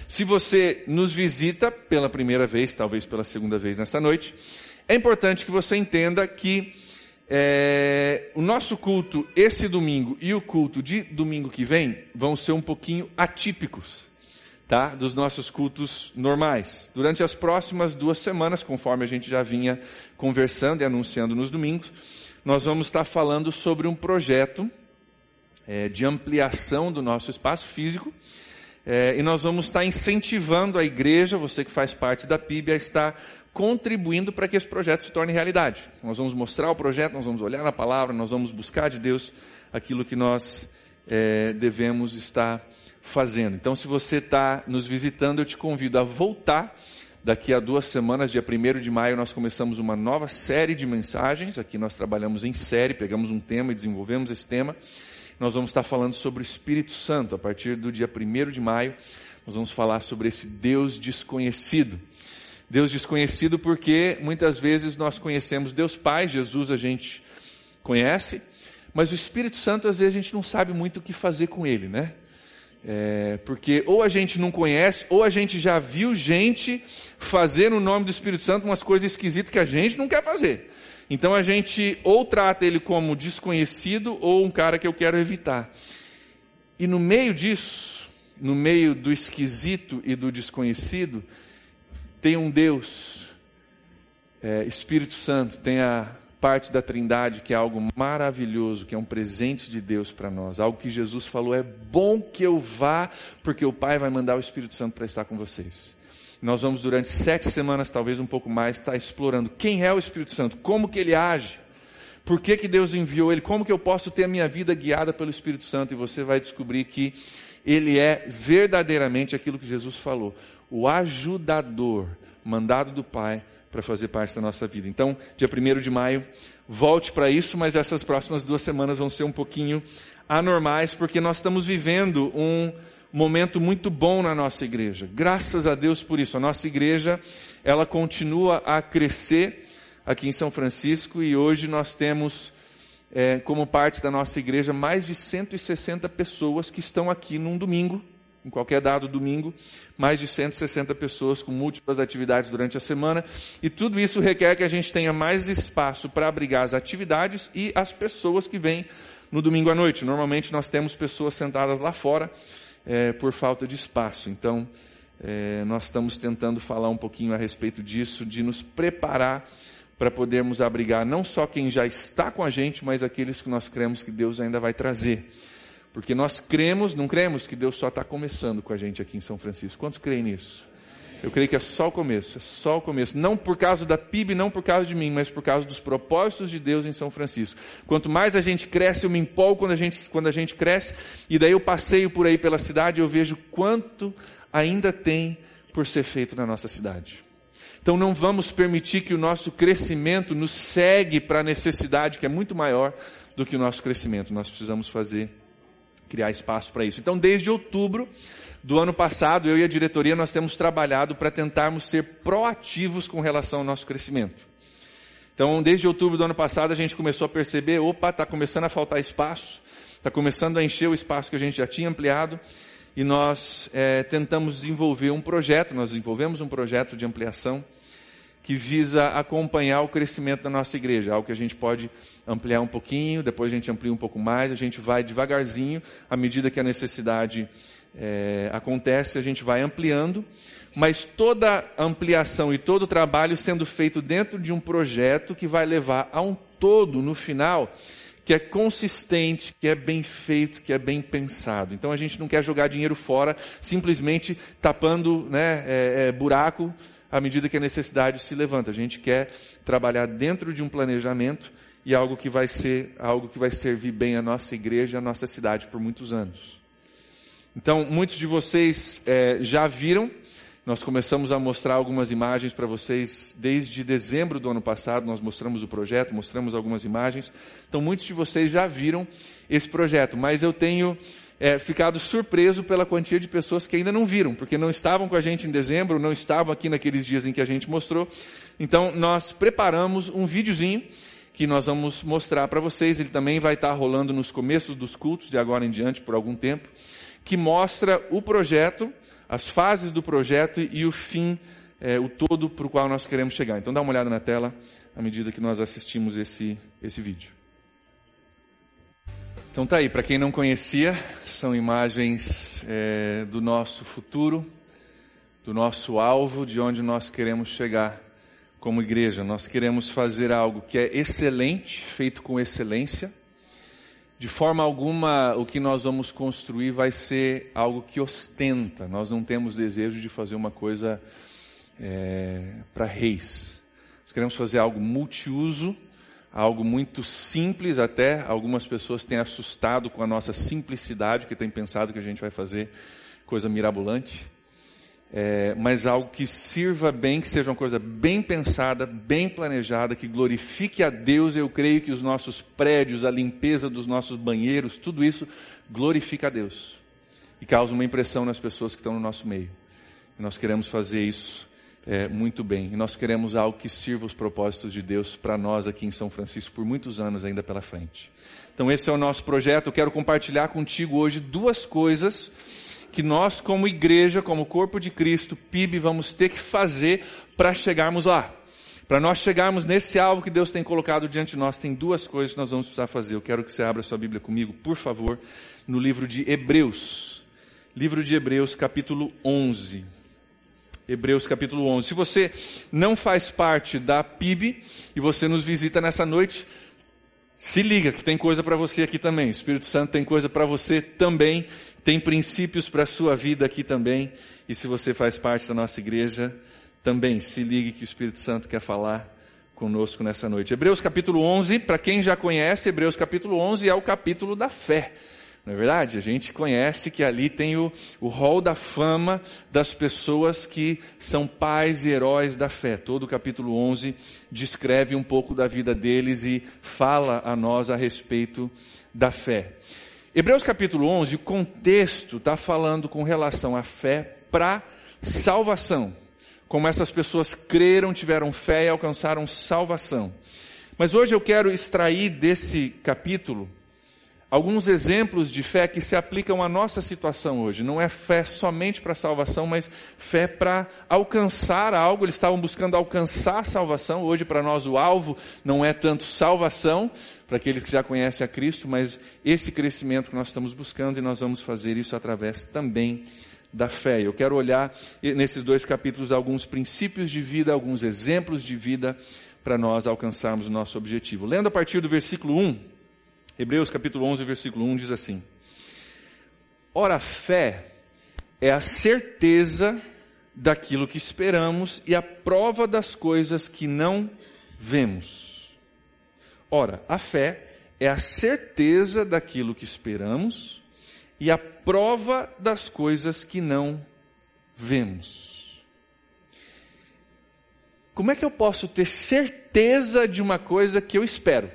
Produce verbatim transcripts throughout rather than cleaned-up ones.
Se você nos visita pela primeira vez, talvez pela segunda vez nessa noite, é importante que você entenda que é, o nosso culto esse domingo e o culto de domingo que vem vão ser um pouquinho atípicos, tá? Dos nossos cultos normais. Durante as próximas duas semanas, conforme a gente já vinha conversando e anunciando nos domingos, nós vamos estar falando sobre um projeto é, de ampliação do nosso espaço físico, é, e nós vamos estar incentivando a igreja, você que faz parte da P I B, a estar contribuindo para que esse projeto se torne realidade. Nós vamos mostrar o projeto, nós vamos olhar na palavra, nós vamos buscar de Deus aquilo que nós é, devemos estar fazendo. Então, se você está nos visitando, eu te convido a voltar. Daqui a duas semanas, dia primeiro de maio, nós começamos uma nova série de mensagens. Aqui nós trabalhamos em série, pegamos um tema e desenvolvemos esse tema. Nós vamos estar falando sobre o Espírito Santo. A partir do dia primeiro de maio, nós vamos falar sobre esse Deus desconhecido. Deus desconhecido porque muitas vezes nós conhecemos Deus Pai, Jesus a gente conhece, mas o Espírito Santo às vezes a gente não sabe muito o que fazer com ele, né? É, porque ou a gente não conhece, ou a gente já viu gente fazer no nome do Espírito Santo umas coisas esquisitas que a gente não quer fazer. Então a gente ou trata ele como desconhecido ou um cara que eu quero evitar. E no meio disso, no meio do esquisito e do desconhecido, tem um Deus, é, Espírito Santo, tem a parte da Trindade que é algo maravilhoso, que é um presente de Deus para nós, algo que Jesus falou, é bom que eu vá, porque o Pai vai mandar o Espírito Santo para estar com vocês. Nós vamos durante sete semanas, talvez um pouco mais, estar explorando quem é o Espírito Santo, como que ele age, por que que Deus enviou ele, como que eu posso ter a minha vida guiada pelo Espírito Santo, e você vai descobrir que ele é verdadeiramente aquilo que Jesus falou, o ajudador, mandado do Pai, para fazer parte da nossa vida. Então, dia primeiro de maio, volte para isso, mas essas próximas duas semanas vão ser um pouquinho anormais, porque nós estamos vivendo um momento muito bom na nossa igreja. Graças a Deus por isso. A nossa igreja, ela continua a crescer aqui em São Francisco, e hoje nós temos, é, como parte da nossa igreja, mais de cento e sessenta pessoas que estão aqui num domingo, em qualquer dado domingo, mais de cento e sessenta pessoas com múltiplas atividades durante a semana, e tudo isso requer que a gente tenha mais espaço para abrigar as atividades e as pessoas que vêm no domingo à noite. Normalmente nós temos pessoas sentadas lá fora é, por falta de espaço, então é, nós estamos tentando falar um pouquinho a respeito disso, de nos preparar para podermos abrigar não só quem já está com a gente, mas aqueles que nós cremos que Deus ainda vai trazer. Porque nós cremos, não cremos que Deus só está começando com a gente aqui em São Francisco. Quantos creem nisso? Eu creio que é só o começo, é só o começo. Não por causa da P I B, não por causa de mim, mas por causa dos propósitos de Deus em São Francisco. Quanto mais a gente cresce, eu me empolgo quando a gente, quando a gente cresce, e daí eu passeio por aí pela cidade e eu vejo quanto ainda tem por ser feito na nossa cidade. Então não vamos permitir que o nosso crescimento nos segue para a necessidade que é muito maior do que o nosso crescimento. Nós precisamos fazer criar espaço para isso. Então, desde outubro do ano passado, eu e a diretoria, nós temos trabalhado para tentarmos ser proativos com relação ao nosso crescimento. Então, desde outubro do ano passado, a gente começou a perceber, opa, está começando a faltar espaço, está começando a encher o espaço que a gente já tinha ampliado, e nós é, tentamos desenvolver um projeto, nós desenvolvemos um projeto de ampliação, que visa acompanhar o crescimento da nossa igreja, algo que a gente pode ampliar um pouquinho, depois a gente amplia um pouco mais, a gente vai devagarzinho, à medida que a necessidade é, acontece, a gente vai ampliando, mas toda ampliação e todo o trabalho sendo feito dentro de um projeto que vai levar a um todo, no final, que é consistente, que é bem feito, que é bem pensado. Então a gente não quer jogar dinheiro fora, simplesmente tapando, né, é, é, buraco, à medida que a necessidade se levanta. A gente quer trabalhar dentro de um planejamento e algo que vai ser, algo que vai servir bem a nossa igreja e a nossa cidade por muitos anos. Então, muitos de vocês é, já viram, nós começamos a mostrar algumas imagens para vocês desde dezembro do ano passado, nós mostramos o projeto, mostramos algumas imagens. Então, muitos de vocês já viram esse projeto, mas eu tenho É, ficado surpreso pela quantia de pessoas que ainda não viram, porque não estavam com a gente em dezembro, não estavam aqui naqueles dias em que a gente mostrou. Então, nós preparamos um videozinho que nós vamos mostrar para vocês. Ele também vai estar rolando nos começos dos cultos, de agora em diante, por algum tempo, que mostra o projeto, as fases do projeto e o fim, é, o todo para o qual nós queremos chegar. Então dá uma olhada na tela à medida que nós assistimos esse, esse vídeo. Então tá aí, para quem não conhecia, são imagens é, do nosso futuro, do nosso alvo, de onde nós queremos chegar como igreja. Nós queremos fazer algo que é excelente, feito com excelência. De forma alguma, o que nós vamos construir vai ser algo que ostenta. Nós não temos desejo de fazer uma coisa é, para reis. Nós queremos fazer algo multiuso, algo muito simples até. Algumas pessoas têm assustado com a nossa simplicidade, que têm pensado que a gente vai fazer coisa mirabolante. É, mas algo que sirva bem, que seja uma coisa bem pensada, bem planejada, que glorifique a Deus. Eu creio que os nossos prédios, a limpeza dos nossos banheiros, tudo isso glorifica a Deus e causa uma impressão nas pessoas que estão no nosso meio. E nós queremos fazer isso é, muito bem. E nós queremos algo que sirva os propósitos de Deus para nós aqui em São Francisco por muitos anos ainda pela frente. Então esse é o nosso projeto. Eu quero compartilhar contigo hoje duas coisas que nós, como igreja, como corpo de Cristo, P I B, vamos ter que fazer para chegarmos lá. Para nós chegarmos nesse alvo que Deus tem colocado diante de nós, tem duas coisas que nós vamos precisar fazer. Eu quero que você abra sua Bíblia comigo, por favor, no livro de Hebreus. Livro de Hebreus, capítulo onze. Hebreus, capítulo onze. Se você não faz parte da P I B e você nos visita nessa noite, se liga que tem coisa para você aqui também. O Espírito Santo tem coisa para você também. Tem princípios para a sua vida aqui também. E se você faz parte da nossa igreja, também se ligue que o Espírito Santo quer falar conosco nessa noite. Hebreus capítulo onze, para quem já conhece, Hebreus capítulo onze é o capítulo da fé. Não é verdade? A gente conhece que ali tem o, o hall da fama das pessoas que são pais e heróis da fé. Todo o capítulo onze descreve um pouco da vida deles e fala a nós a respeito da fé. Hebreus capítulo onze, o contexto está falando com relação à fé para salvação. Como essas pessoas creram, tiveram fé e alcançaram salvação. Mas hoje eu quero extrair desse capítulo alguns exemplos de fé que se aplicam à nossa situação hoje. Não é fé somente para salvação, mas fé para alcançar algo. Eles estavam buscando alcançar salvação. Hoje para nós o alvo não é tanto salvação, para aqueles que já conhecem a Cristo, mas esse crescimento que nós estamos buscando, e nós vamos fazer isso através também da fé. Eu quero olhar nesses dois capítulos alguns princípios de vida, alguns exemplos de vida para nós alcançarmos o nosso objetivo. Lendo a partir do versículo um, Hebreus capítulo onze, versículo um, diz assim: Ora, a fé é a certeza daquilo que esperamos e a prova das coisas que não vemos. Ora, a fé é a certeza daquilo que esperamos e a prova das coisas que não vemos. Como é que eu posso ter certeza de uma coisa que eu espero?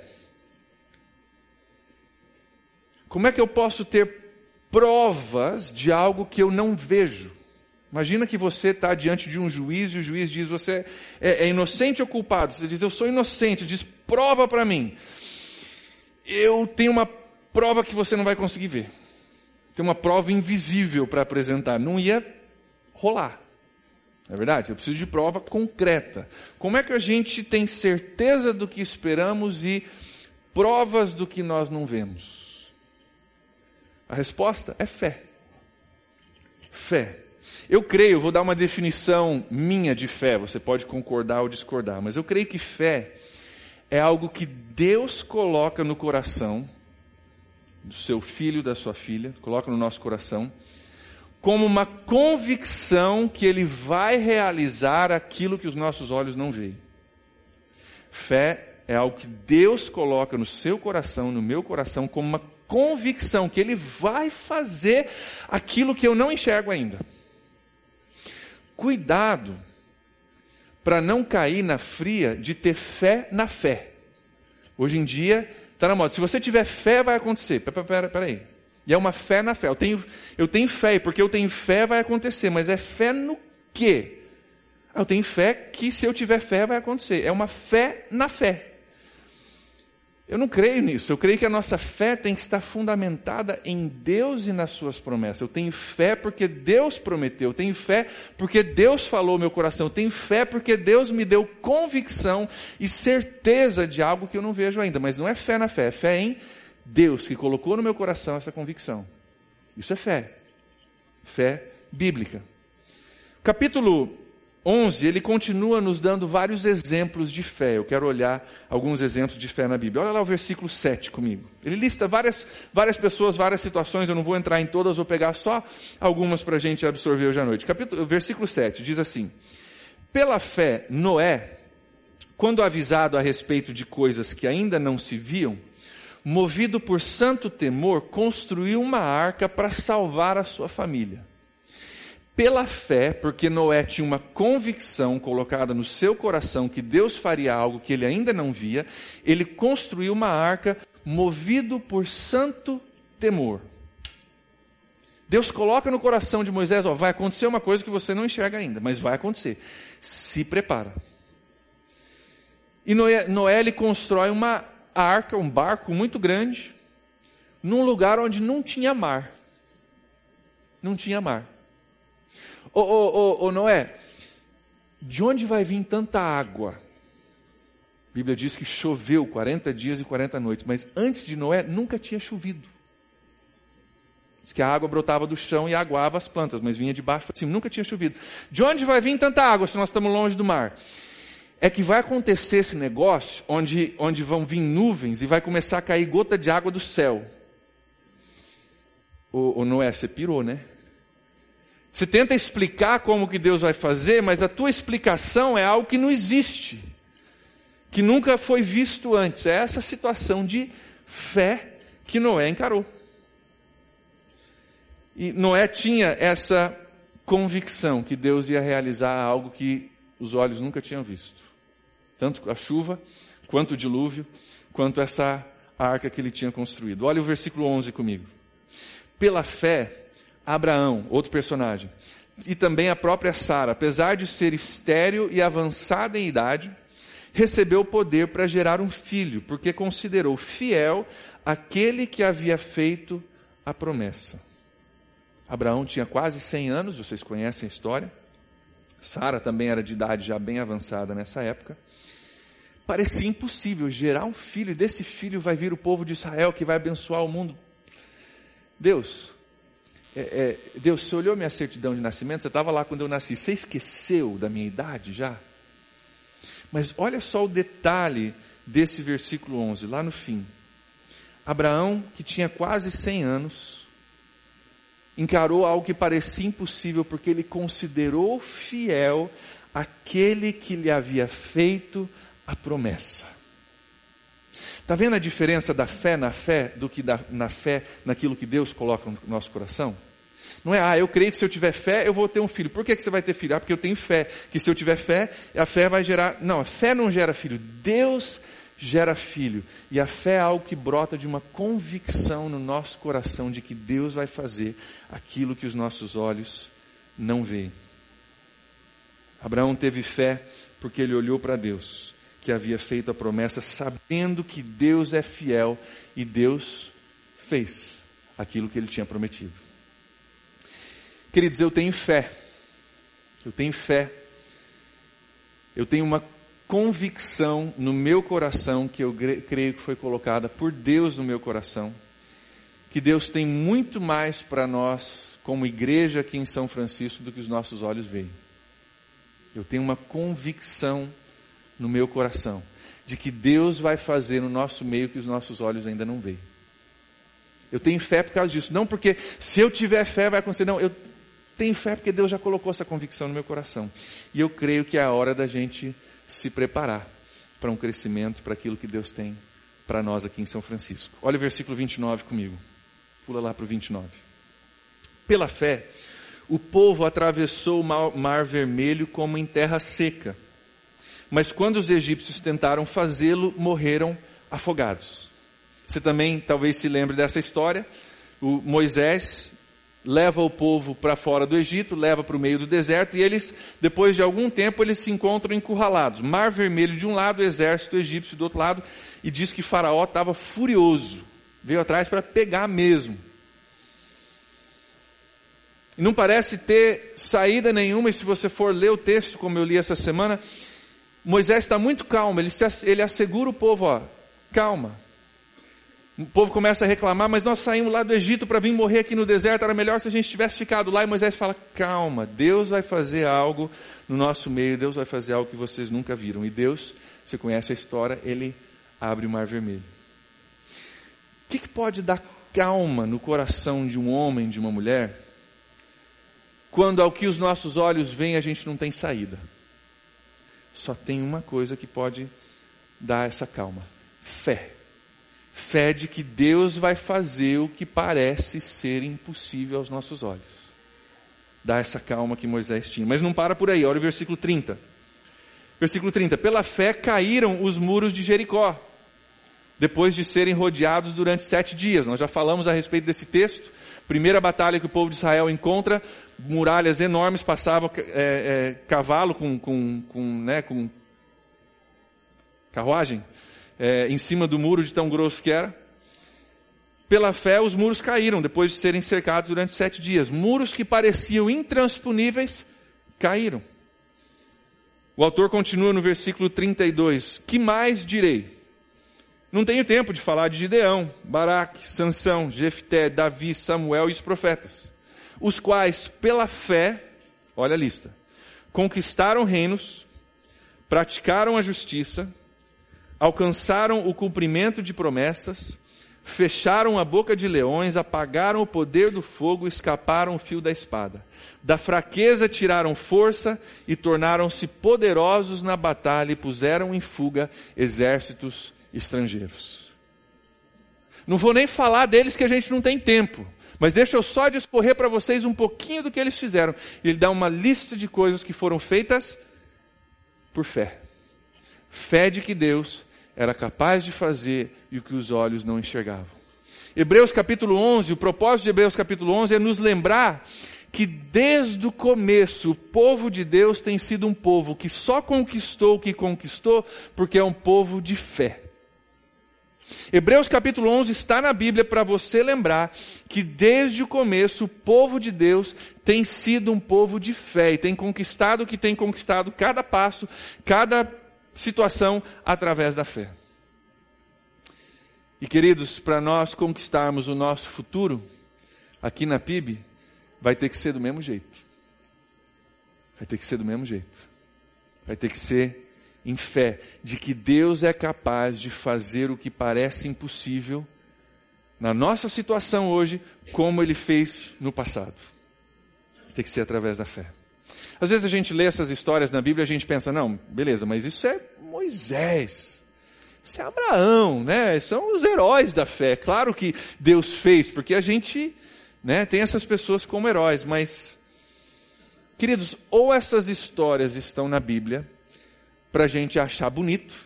Como é que eu posso ter provas de algo que eu não vejo? Imagina que você está diante de um juiz e o juiz diz, você é, é inocente ou culpado? Você diz, eu sou inocente. Ele diz, prova para mim. Eu tenho uma prova que você não vai conseguir ver. Tem uma prova invisível para apresentar. Não ia rolar. Não é verdade? Eu preciso de prova concreta. Como é que a gente tem certeza do que esperamos e provas do que nós não vemos? A resposta é fé. Fé. Eu creio, vou dar uma definição minha de fé, você pode concordar ou discordar, mas eu creio que fé é algo que Deus coloca no coração do seu filho, da sua filha, coloca no nosso coração, como uma convicção que Ele vai realizar aquilo que os nossos olhos não veem. Fé é algo que Deus coloca no seu coração, no meu coração, como uma convicção que Ele vai fazer aquilo que eu não enxergo ainda. Cuidado para não cair na fria de ter fé na fé. Hoje em dia está na moda. Se você tiver fé, vai acontecer. Pera, pera, pera aí. E é uma fé na fé. Eu tenho, eu tenho fé, e porque eu tenho fé vai acontecer. Mas é fé no quê? Eu tenho fé que se eu tiver fé vai acontecer. É uma fé na fé. Eu não creio nisso. Eu creio que a nossa fé tem que estar fundamentada em Deus e nas suas promessas. Eu tenho fé porque Deus prometeu. Eu tenho fé porque Deus falou no meu coração. Eu tenho fé porque Deus me deu convicção e certeza de algo que eu não vejo ainda. Mas não é fé na fé, é fé em Deus que colocou no meu coração essa convicção. Isso é fé. Fé bíblica. Capítulo onze, ele continua nos dando vários exemplos de fé. Eu quero olhar alguns exemplos de fé na Bíblia. Olha lá o versículo sete comigo. Ele lista várias, várias pessoas, várias situações. Eu não vou entrar em todas, vou pegar só algumas para a gente absorver hoje à noite. Capítulo, versículo sete diz assim: pela fé, Noé, quando avisado a respeito de coisas que ainda não se viam, movido por santo temor, construiu uma arca para salvar a sua família. Pela fé, porque Noé tinha uma convicção colocada no seu coração que Deus faria algo que ele ainda não via, ele construiu uma arca movido por santo temor. Deus coloca no coração de Moisés, ó, vai acontecer uma coisa que você não enxerga ainda, mas vai acontecer. Se prepara. E Noé, Noé ele constrói uma arca, um barco muito grande, num lugar onde não tinha mar. Não tinha mar. Ô, ô, ô, ô Noé, de onde vai vir tanta água? A Bíblia diz que choveu quarenta dias e quarenta noites, mas antes de Noé nunca tinha chovido. Diz que a água brotava do chão e aguava as plantas, mas vinha de baixo para cima, nunca tinha chovido. De onde vai vir tanta água se nós estamos longe do mar? É que vai acontecer esse negócio onde, onde vão vir nuvens e vai começar a cair gota de água do céu. Ô, ô Noé, você pirou, né? Você tenta explicar como que Deus vai fazer, mas a tua explicação é algo que não existe, que nunca foi visto antes. É essa situação de fé que Noé encarou. E Noé tinha essa convicção que Deus ia realizar algo que os olhos nunca tinham visto. Tanto a chuva, quanto o dilúvio, quanto essa arca que ele tinha construído. Olha o versículo onze comigo. Pela fé, Abraão, outro personagem, e também a própria Sara, apesar de ser estéril e avançada em idade, recebeu o poder para gerar um filho, porque considerou fiel aquele que havia feito a promessa. Abraão tinha quase cem anos, vocês conhecem a história. Sara também era de idade já bem avançada nessa época. Parecia impossível gerar um filho, e desse filho vai vir o povo de Israel que vai abençoar o mundo. Deus... É, é, Deus, você olhou minha certidão de nascimento, você estava lá quando eu nasci, você esqueceu da minha idade já? Mas olha só o detalhe desse versículo onze, lá no fim. Abraão, que tinha quase cem anos, encarou algo que parecia impossível, porque ele considerou fiel aquele que lhe havia feito a promessa. Está vendo a diferença da fé na fé do que da, na fé naquilo que Deus coloca no nosso coração? Não é, ah, eu creio que se eu tiver fé, eu vou ter um filho. Por que, que você vai ter filho? Ah, porque eu tenho fé. Que se eu tiver fé, a fé vai gerar... Não, a fé não gera filho. Deus gera filho. E a fé é algo que brota de uma convicção no nosso coração de que Deus vai fazer aquilo que os nossos olhos não veem. Abraão teve fé porque ele olhou para Deus, que havia feito a promessa, sabendo que Deus é fiel, e Deus fez aquilo que ele tinha prometido. Queridos, eu tenho fé, eu tenho fé, eu tenho uma convicção no meu coração, que eu creio que foi colocada por Deus no meu coração, que Deus tem muito mais para nós, como igreja aqui em São Francisco, do que os nossos olhos veem. Eu tenho uma convicção no meu coração, de que Deus vai fazer no nosso meio que os nossos olhos ainda não veem. Eu tenho fé por causa disso, não porque se eu tiver fé vai acontecer, não, eu tenho fé porque Deus já colocou essa convicção no meu coração, e eu creio que é a hora da gente se preparar para um crescimento, para aquilo que Deus tem para nós aqui em São Francisco. Olha o versículo vinte e nove comigo, pula lá para o vinte e nove. Pela fé, o povo atravessou o mar, mar Vermelho como em terra seca, mas quando os egípcios tentaram fazê-lo, morreram afogados. Você também talvez se lembre dessa história. O Moisés leva o povo para fora do Egito, leva para o meio do deserto, e eles, depois de algum tempo, eles se encontram encurralados. Mar Vermelho de um lado, o exército egípcio do outro lado, e diz que Faraó estava furioso, veio atrás para pegar mesmo. E não parece ter saída nenhuma, e se você for ler o texto, como eu li essa semana, Moisés está muito calmo, ele, se, ele assegura o povo, ó, calma. O povo começa a reclamar, mas nós saímos lá do Egito para vir morrer aqui no deserto, era melhor se a gente tivesse ficado lá. E Moisés fala, calma, Deus vai fazer algo no nosso meio, Deus vai fazer algo que vocês nunca viram. E Deus, você conhece a história, Ele abre o Mar Vermelho. O que, que pode dar calma no coração de um homem, de uma mulher, quando ao que os nossos olhos veem a gente não tem saída? Só tem uma coisa que pode dar essa calma: fé. Fé de que Deus vai fazer o que parece ser impossível aos nossos olhos. Dá essa calma que Moisés tinha. Mas não para por aí, olha o versículo trinta. Versículo trinta. Pela fé caíram os muros de Jericó, depois de serem rodeados durante sete dias. Nós já falamos a respeito desse texto. Primeira batalha que o povo de Israel encontra, muralhas enormes, passava é, é, cavalo com, com, com, né, com carruagem, É, em cima do muro de tão grosso que era. Pela fé os muros caíram, depois de serem cercados durante sete dias. Muros que pareciam intransponíveis, caíram. O autor continua no versículo trinta e dois. Que mais direi? Não tenho tempo de falar de Gideão, Baraque, Sansão, Jefté, Davi, Samuel e os profetas, os quais pela fé, olha a lista, conquistaram reinos, praticaram a justiça, alcançaram o cumprimento de promessas, fecharam a boca de leões, apagaram o poder do fogo, escaparam o fio da espada. Da fraqueza tiraram força e tornaram-se poderosos na batalha e puseram em fuga exércitos estrangeiros. Não vou nem falar deles que a gente não tem tempo, mas deixa eu só discorrer para vocês um pouquinho do que eles fizeram. Ele dá uma lista de coisas que foram feitas por fé. Fé de que Deus era capaz de fazer e o que os olhos não enxergavam. Hebreus capítulo onze, o propósito de Hebreus capítulo onze é nos lembrar que desde o começo o povo de Deus tem sido um povo que só conquistou o que conquistou porque é um povo de fé. Hebreus capítulo onze está na Bíblia para você lembrar que desde o começo o povo de Deus tem sido um povo de fé e tem conquistado o que tem conquistado cada passo, cada situação através da fé. E queridos, para nós conquistarmos o nosso futuro aqui na P I B, vai ter que ser do mesmo jeito. Vai ter que ser do mesmo jeito. Vai ter que ser em fé de que Deus é capaz de fazer o que parece impossível na nossa situação hoje, como Ele fez no passado. Vai ter que ser através da fé. Às vezes a gente lê essas histórias na Bíblia e a gente pensa, não, beleza, mas isso é Moisés, isso é Abraão, né? São os heróis da fé. Claro que Deus fez, porque a gente, né, tem essas pessoas como heróis, mas, queridos, ou essas histórias estão na Bíblia para a gente achar bonito,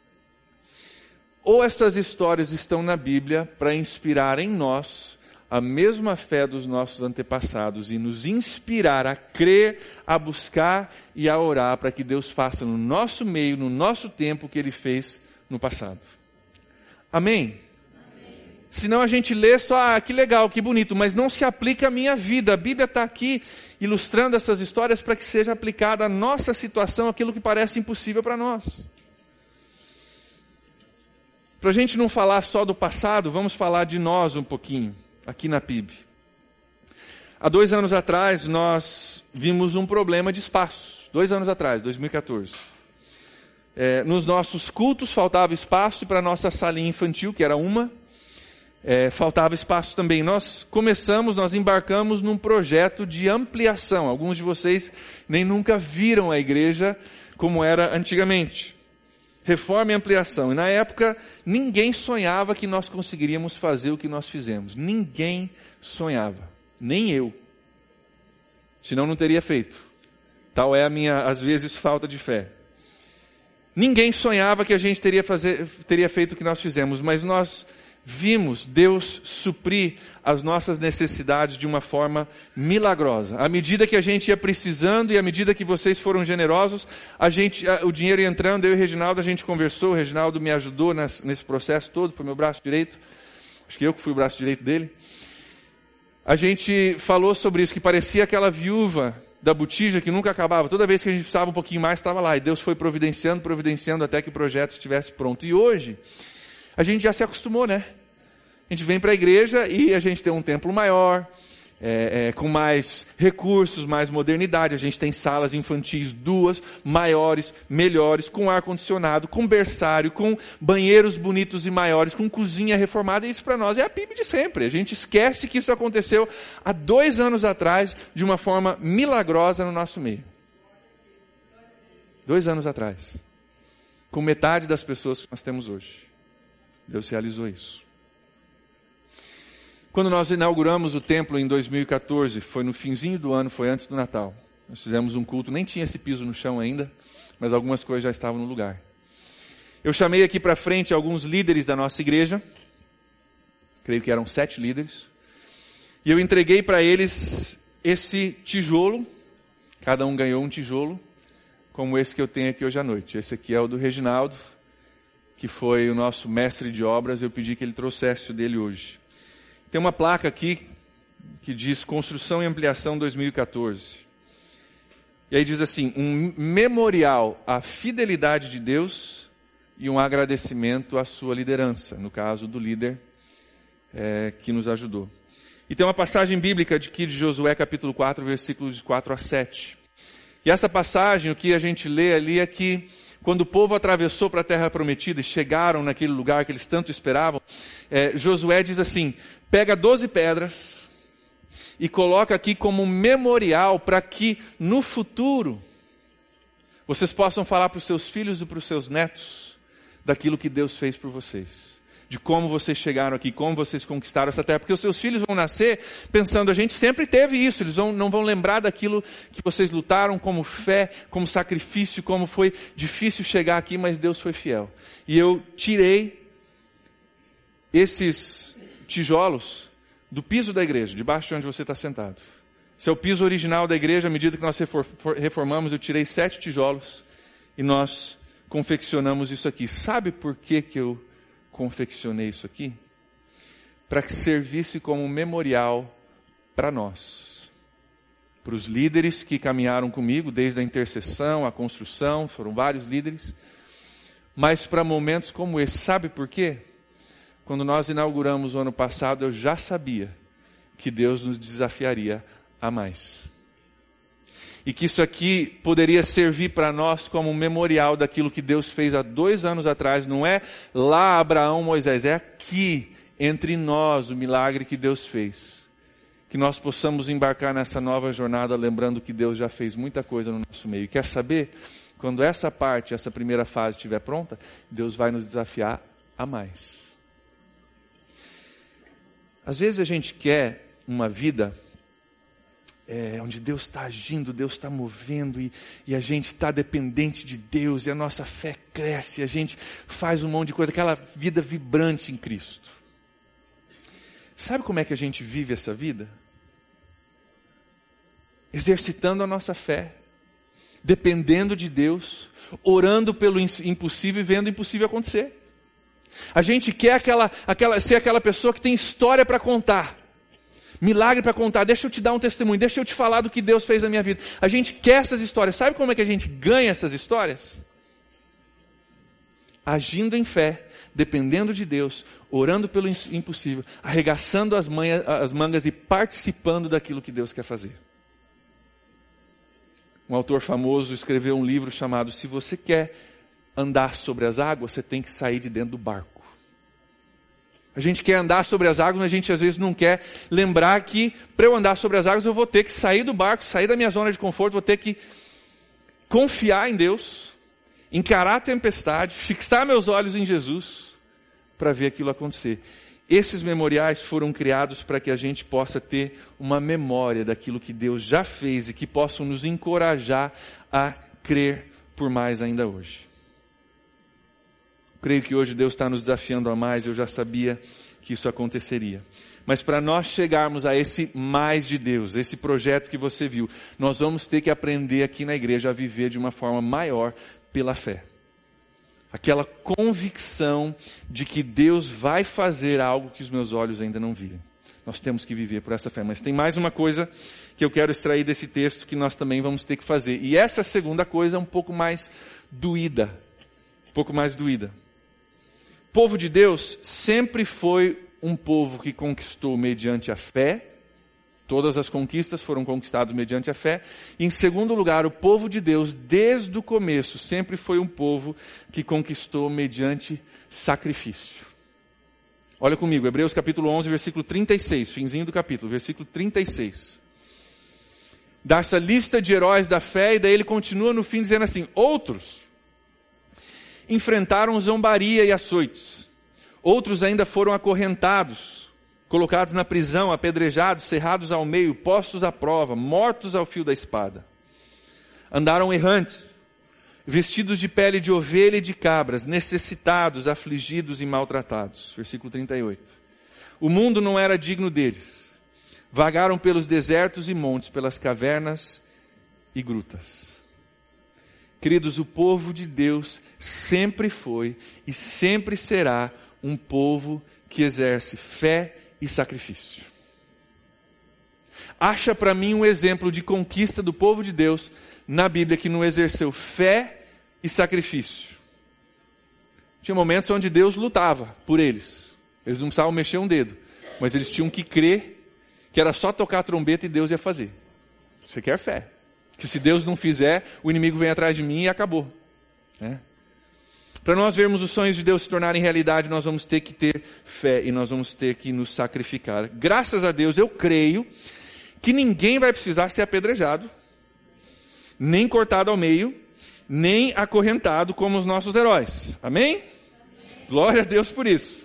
ou essas histórias estão na Bíblia para inspirar em nós a mesma fé dos nossos antepassados e nos inspirar a crer, a buscar e a orar para que Deus faça no nosso meio, no nosso tempo, o que Ele fez no passado. Amém? Amém. Senão a gente lê só, ah, que legal, que bonito, mas não se aplica à minha vida. A Bíblia está aqui ilustrando essas histórias para que seja aplicada à nossa situação, aquilo que parece impossível para nós. Para a gente não falar só do passado, vamos falar de nós um pouquinho, aqui na P I B. Há dois anos atrás, nós vimos um problema de espaço. Dois anos atrás, dois mil e quatorze. É, nos nossos cultos faltava espaço, e para a nossa salinha infantil, que era uma, é, faltava espaço também. Nós começamos, nós embarcamos num projeto de ampliação. Alguns de vocês nem nunca viram a igreja como era antigamente. Reforma e ampliação. E na época, ninguém sonhava que nós conseguiríamos fazer o que nós fizemos. Ninguém sonhava. Nem eu. Senão não teria feito. Tal é a minha, às vezes, falta de fé. Ninguém sonhava que a gente teria, fazer, teria feito o que nós fizemos, mas nós vimos Deus suprir as nossas necessidades de uma forma milagrosa. À medida que a gente ia precisando e à medida que vocês foram generosos, a gente, a, o dinheiro ia entrando, eu e o Reginaldo, a gente conversou, o Reginaldo me ajudou nesse, nesse processo todo, foi meu braço direito, acho que eu que fui o braço direito dele. A gente falou sobre isso, que parecia aquela viúva da botija que nunca acabava. Toda vez que a gente precisava um pouquinho mais, estava lá. E Deus foi providenciando, providenciando até que o projeto estivesse pronto. E hoje, a gente já se acostumou, né? A gente vem para a igreja e a gente tem um templo maior, é, é, com mais recursos, mais modernidade. A gente tem salas infantis duas, maiores, melhores, com ar-condicionado, com berçário, com banheiros bonitos e maiores, com cozinha reformada. E isso para nós é a P I B de sempre. A gente esquece que isso aconteceu há dois anos atrás, de uma forma milagrosa no nosso meio. Dois anos atrás. Com metade das pessoas que nós temos hoje. Deus realizou isso. Quando nós inauguramos o templo em dois mil e quatorze, foi no finzinho do ano, foi antes do Natal. Nós fizemos um culto, nem tinha esse piso no chão ainda, mas algumas coisas já estavam no lugar. Eu chamei aqui para frente alguns líderes da nossa igreja, creio que eram sete líderes, e eu entreguei para eles esse tijolo, cada um ganhou um tijolo, como esse que eu tenho aqui hoje à noite. Esse aqui é o do Reginaldo, que foi o nosso mestre de obras, eu pedi que ele trouxesse o dele hoje. Tem uma placa aqui que diz Construção e Ampliação dois mil e quatorze. E aí diz assim, um memorial à fidelidade de Deus e um agradecimento à sua liderança, no caso do líder é, que nos ajudou. E tem uma passagem bíblica de, aqui de Josué capítulo quatro, versículos de quatro a sete. E essa passagem, o que a gente lê ali é que quando o povo atravessou para a terra prometida e chegaram naquele lugar que eles tanto esperavam, é, Josué diz assim, pega doze pedras e coloca aqui como um memorial para que no futuro vocês possam falar para os seus filhos e para os seus netos daquilo que Deus fez por vocês. De como vocês chegaram aqui, como vocês conquistaram essa terra. Porque os seus filhos vão nascer pensando, a gente sempre teve isso. Eles vão, não vão lembrar daquilo que vocês lutaram como fé, como sacrifício, como foi difícil chegar aqui, mas Deus foi fiel. E eu tirei esses tijolos do piso da igreja, debaixo de onde você está sentado. Esse é o piso original da igreja. À medida que nós reformamos, eu tirei sete tijolos e nós confeccionamos isso aqui. Sabe por que que eu confeccionei isso aqui? Para que servisse como memorial para nós, para os líderes que caminharam comigo desde a intercessão, a construção, foram vários líderes, mas para momentos como esse. Sabe por quê? Quando nós inauguramos o ano passado, eu já sabia que Deus nos desafiaria a mais. E que isso aqui poderia servir para nós como um memorial daquilo que Deus fez há dois anos atrás. Não é lá Abraão, Moisés, é aqui, entre nós, o milagre que Deus fez. Que nós possamos embarcar nessa nova jornada, lembrando que Deus já fez muita coisa no nosso meio. E quer saber? Quando essa parte, essa primeira fase estiver pronta, Deus vai nos desafiar a mais. Às vezes a gente quer uma vida É, onde Deus está agindo, Deus está movendo e, e a gente está dependente de Deus e a nossa fé cresce, e a gente faz um monte de coisa, aquela vida vibrante em Cristo. Sabe como é que a gente vive essa vida? Exercitando a nossa fé, dependendo de Deus, orando pelo impossível e vendo o impossível acontecer. A gente quer aquela, aquela, ser aquela pessoa que tem história para contar. Milagre para contar, deixa eu te dar um testemunho, deixa eu te falar do que Deus fez na minha vida. A gente quer essas histórias. Sabe como é que a gente ganha essas histórias? Agindo em fé, dependendo de Deus, orando pelo impossível, arregaçando as, manhas, as mangas e participando daquilo que Deus quer fazer. Um autor famoso escreveu um livro chamado Se Você Quer Andar Sobre as Águas, Você Tem que Sair de Dentro do Barco. A gente quer andar sobre as águas, mas a gente às vezes não quer lembrar que para eu andar sobre as águas eu vou ter que sair do barco, sair da minha zona de conforto, vou ter que confiar em Deus, encarar a tempestade, fixar meus olhos em Jesus para ver aquilo acontecer. Esses memoriais foram criados para que a gente possa ter uma memória daquilo que Deus já fez e que possam nos encorajar a crer por mais ainda hoje. Creio que hoje Deus está nos desafiando a mais. Eu já sabia que isso aconteceria. Mas para nós chegarmos a esse mais de Deus, esse projeto que você viu, nós vamos ter que aprender aqui na igreja a viver de uma forma maior pela fé. Aquela convicção de que Deus vai fazer algo que os meus olhos ainda não viram. Nós temos que viver por essa fé. Mas tem mais uma coisa que eu quero extrair desse texto que nós também vamos ter que fazer. E essa segunda coisa é um pouco mais doída. Um pouco mais doída. O povo de Deus sempre foi um povo que conquistou mediante a fé. Todas as conquistas foram conquistadas mediante a fé. E, em segundo lugar, o povo de Deus, desde o começo, sempre foi um povo que conquistou mediante sacrifício. Olha comigo, Hebreus capítulo onze, versículo trinta e seis, finzinho do capítulo, versículo trinta e seis. Dá essa lista de heróis da fé, e daí ele continua no fim dizendo assim: outros enfrentaram zombaria e açoites. Outros ainda foram acorrentados, colocados na prisão, apedrejados, cerrados ao meio, postos à prova, mortos ao fio da espada. Andaram errantes, vestidos de pele de ovelha e de cabras, necessitados, afligidos e maltratados. Versículo trinta e oito. O mundo não era digno deles. Vagaram pelos desertos e montes, pelas cavernas e grutas. Queridos, o povo de Deus sempre foi e sempre será um povo que exerce fé e sacrifício. Acha para mim um exemplo de conquista do povo de Deus na Bíblia que não exerceu fé e sacrifício. Tinha momentos onde Deus lutava por eles. Eles não precisavam mexer um dedo, mas eles tinham que crer que era só tocar a trombeta e Deus ia fazer. Isso requer fé. Que se Deus não fizer, o inimigo vem atrás de mim e acabou. Né? Para nós vermos os sonhos de Deus se tornarem realidade, nós vamos ter que ter fé e nós vamos ter que nos sacrificar. Graças a Deus, eu creio que ninguém vai precisar ser apedrejado, nem cortado ao meio, nem acorrentado como os nossos heróis. Amém? Amém? Glória a Deus por isso.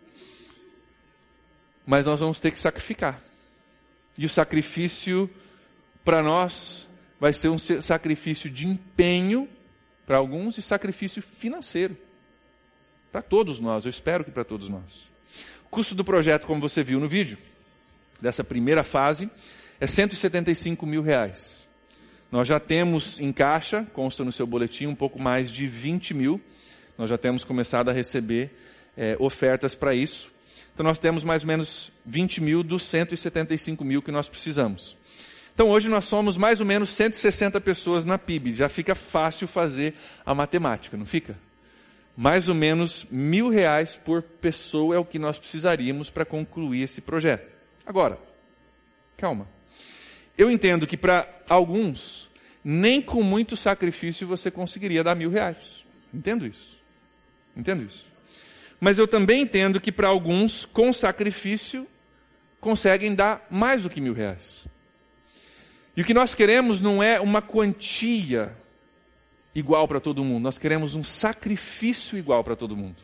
Mas nós vamos ter que sacrificar. E o sacrifício para nós vai ser um sacrifício de empenho para alguns e sacrifício financeiro. Para todos nós, eu espero que para todos nós. O custo do projeto, como você viu no vídeo, dessa primeira fase, é cento e setenta e cinco mil reais. Nós já temos em caixa, consta no seu boletim, um pouco mais de vinte mil. Nós já temos começado a receber é, ofertas para isso. Então nós temos mais ou menos vinte mil dos cento e setenta e cinco mil que nós precisamos. Então hoje nós somos mais ou menos cento e sessenta pessoas na P I B. Já fica fácil fazer a matemática, não fica? Mais ou menos mil reais por pessoa é o que nós precisaríamos para concluir esse projeto. Agora, calma. Eu entendo que para alguns, nem com muito sacrifício você conseguiria dar mil reais. Entendo isso. Entendo isso. Mas eu também entendo que para alguns, com sacrifício, conseguem dar mais do que mil reais. E o que nós queremos não é uma quantia igual para todo mundo. Nós queremos um sacrifício igual para todo mundo.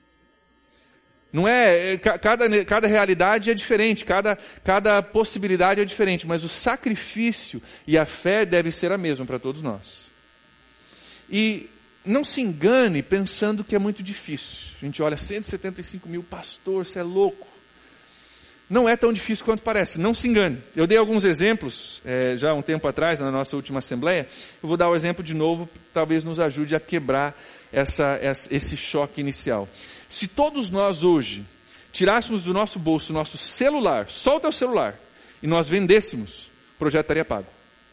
Não é, cada, cada realidade é diferente, cada, cada possibilidade é diferente, mas o sacrifício e a fé devem ser a mesma para todos nós. E não se engane pensando que é muito difícil. A gente olha, cento e setenta e cinco mil, pastor, você é louco. Não é tão difícil quanto parece, não se engane. Eu dei alguns exemplos, é, já há um tempo atrás, na nossa última assembleia. Eu vou dar o exemplo de novo, talvez nos ajude a quebrar essa, essa, esse choque inicial. Se todos nós hoje tirássemos do nosso bolso o nosso celular, só o teu celular, e nós vendêssemos, o projeto estaria pago.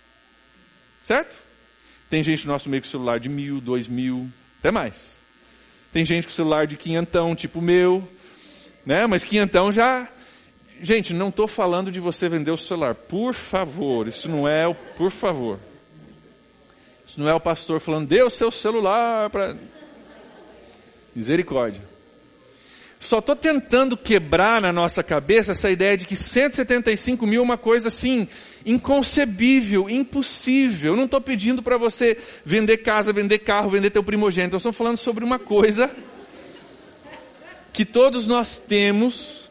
Certo? Tem gente no nosso meio com celular de mil, dois mil, até mais. Tem gente com celular de quinhentão, tipo o meu, né? Mas quinhentão já... Gente, não estou falando de você vender o celular. Por favor, isso não é o... Por favor. Isso não é o pastor falando, dê o seu celular para... Misericórdia. Só estou tentando quebrar na nossa cabeça essa ideia de que cento e setenta e cinco mil é uma coisa assim, inconcebível, impossível. Eu não estou pedindo para você vender casa, vender carro, vender teu primogênito. Nós estamos falando sobre uma coisa que todos nós temos,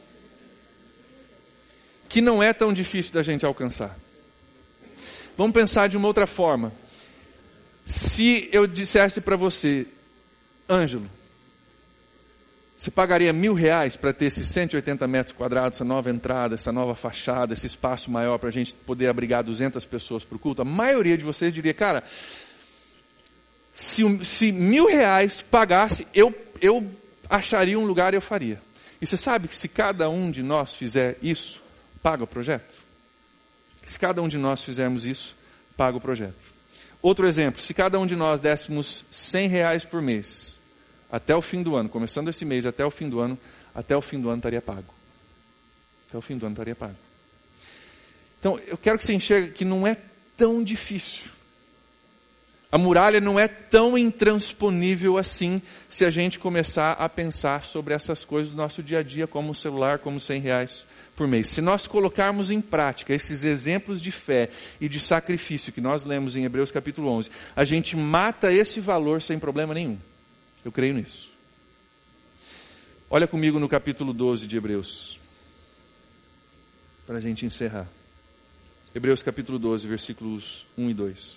que não é tão difícil da gente alcançar. Vamos pensar de uma outra forma. Se eu dissesse para você, Ângelo, Você pagaria mil reais para ter esses cento e oitenta metros quadrados, essa nova entrada, essa nova fachada, esse espaço maior para a gente poder abrigar duzentas pessoas para o culto? A maioria de vocês diria, cara, se, se mil reais pagasse, eu, eu acharia um lugar e eu faria. E você sabe que se cada um de nós fizer isso, paga o projeto? Se cada um de nós fizermos isso, paga o projeto. Outro exemplo, se cada um de nós dessemos cem reais por mês, até o fim do ano, começando esse mês até o fim do ano, até o fim do ano estaria pago. Até o fim do ano estaria pago. Então, eu quero que você enxergue que não é tão difícil. A muralha não é tão intransponível assim, se a gente começar a pensar sobre essas coisas do nosso dia a dia, como o celular, como cem reais por mês. Se nós colocarmos em prática esses exemplos de fé e de sacrifício que nós lemos em Hebreus capítulo onze, a gente mata esse valor sem problema nenhum. Eu creio nisso. Olha comigo no capítulo doze de Hebreus, para a gente encerrar. Hebreus capítulo doze, versículos um e dois.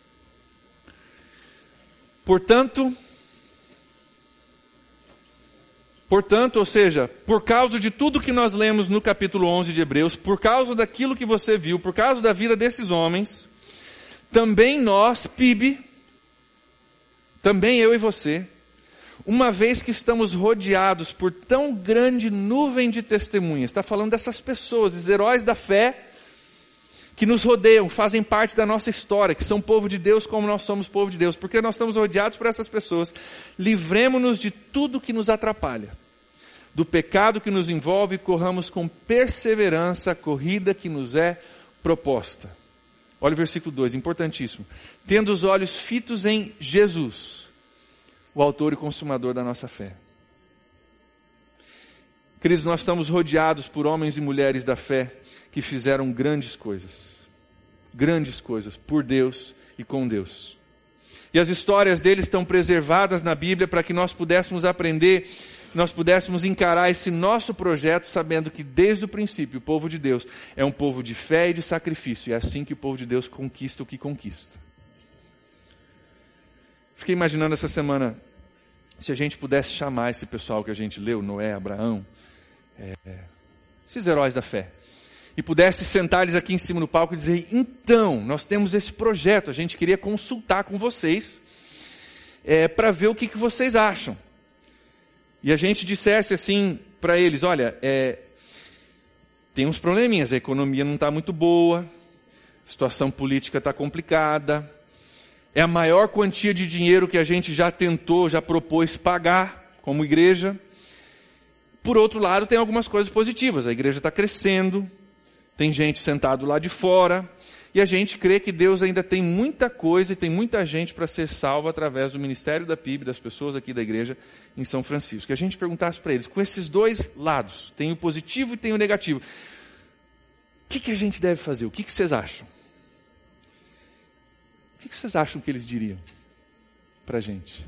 Portanto, portanto, ou seja, por causa de tudo que nós lemos no capítulo onze de Hebreus, por causa daquilo que você viu, por causa da vida desses homens, também nós, P I B, também eu e você, uma vez que estamos rodeados por tão grande nuvem de testemunhas, está falando dessas pessoas, os heróis da fé, que nos rodeiam, fazem parte da nossa história, que são povo de Deus como nós somos povo de Deus, porque nós estamos rodeados por essas pessoas, livremo-nos de tudo que nos atrapalha, do pecado que nos envolve e corramos com perseverança a corrida que nos é proposta. Olha o versículo dois, importantíssimo. Tendo os olhos fitos em Jesus, o autor e consumador da nossa fé. Queridos, nós estamos rodeados por homens e mulheres da fé que fizeram grandes coisas. Grandes coisas por Deus e com Deus. E as histórias deles estão preservadas na Bíblia para que nós pudéssemos aprender, nós pudéssemos encarar esse nosso projeto sabendo que desde o princípio o povo de Deus é um povo de fé e de sacrifício. E é assim que o povo de Deus conquista o que conquista. Fiquei imaginando essa semana, se a gente pudesse chamar esse pessoal que a gente leu, Noé, Abraão, é, esses heróis da fé, e pudesse sentar eles aqui em cima do palco e dizer, então, nós temos esse projeto, a gente queria consultar com vocês, é, para ver o que, que vocês acham. E a gente dissesse assim para eles, olha, é, tem uns probleminhas, a economia não está muito boa, a situação política está complicada, é a maior quantia de dinheiro que a gente já tentou, já propôs pagar como igreja. Por outro lado, tem algumas coisas positivas, a igreja está crescendo, tem gente sentado lá de fora, e a gente crê que Deus ainda tem muita coisa e tem muita gente para ser salva através do ministério da P I B, das pessoas aqui da igreja em São Francisco. Que a gente perguntasse para eles, com esses dois lados, tem o positivo e tem o negativo, o que, que a gente deve fazer? O que, que vocês acham? O que, que vocês acham que eles diriam para a gente?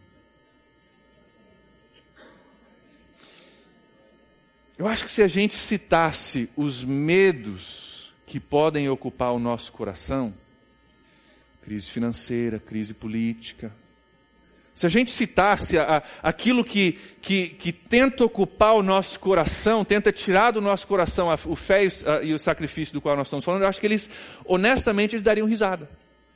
Eu acho que se a gente citasse os medos que podem ocupar o nosso coração, crise financeira, crise política, se a gente citasse a, a, aquilo que, que, que tenta ocupar o nosso coração, tenta tirar do nosso coração a, o fé e, a, e o sacrifício do qual nós estamos falando, eu acho que eles, honestamente, eles dariam risada.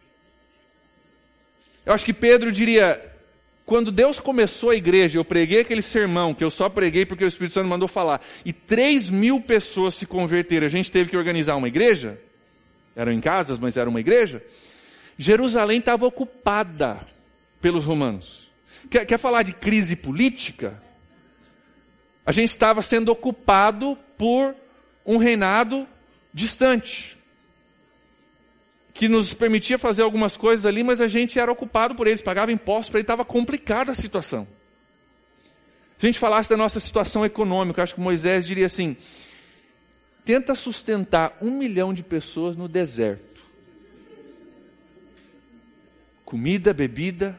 Eu acho que Pedro diria, quando Deus começou a igreja, eu preguei aquele sermão, que eu só preguei porque o Espírito Santo mandou falar, e três mil pessoas se converteram, a gente teve que organizar uma igreja, eram em casas, mas era uma igreja, Jerusalém estava ocupada pelos romanos. Quer, quer falar de crise política? A gente estava sendo ocupado por um reinado distante, que nos permitia fazer algumas coisas ali, mas a gente era ocupado por eles, pagava impostos para ele, estava complicada a situação. Se a gente falasse da nossa situação econômica, acho que Moisés diria assim, tenta sustentar um milhão de pessoas no deserto. Comida, bebida.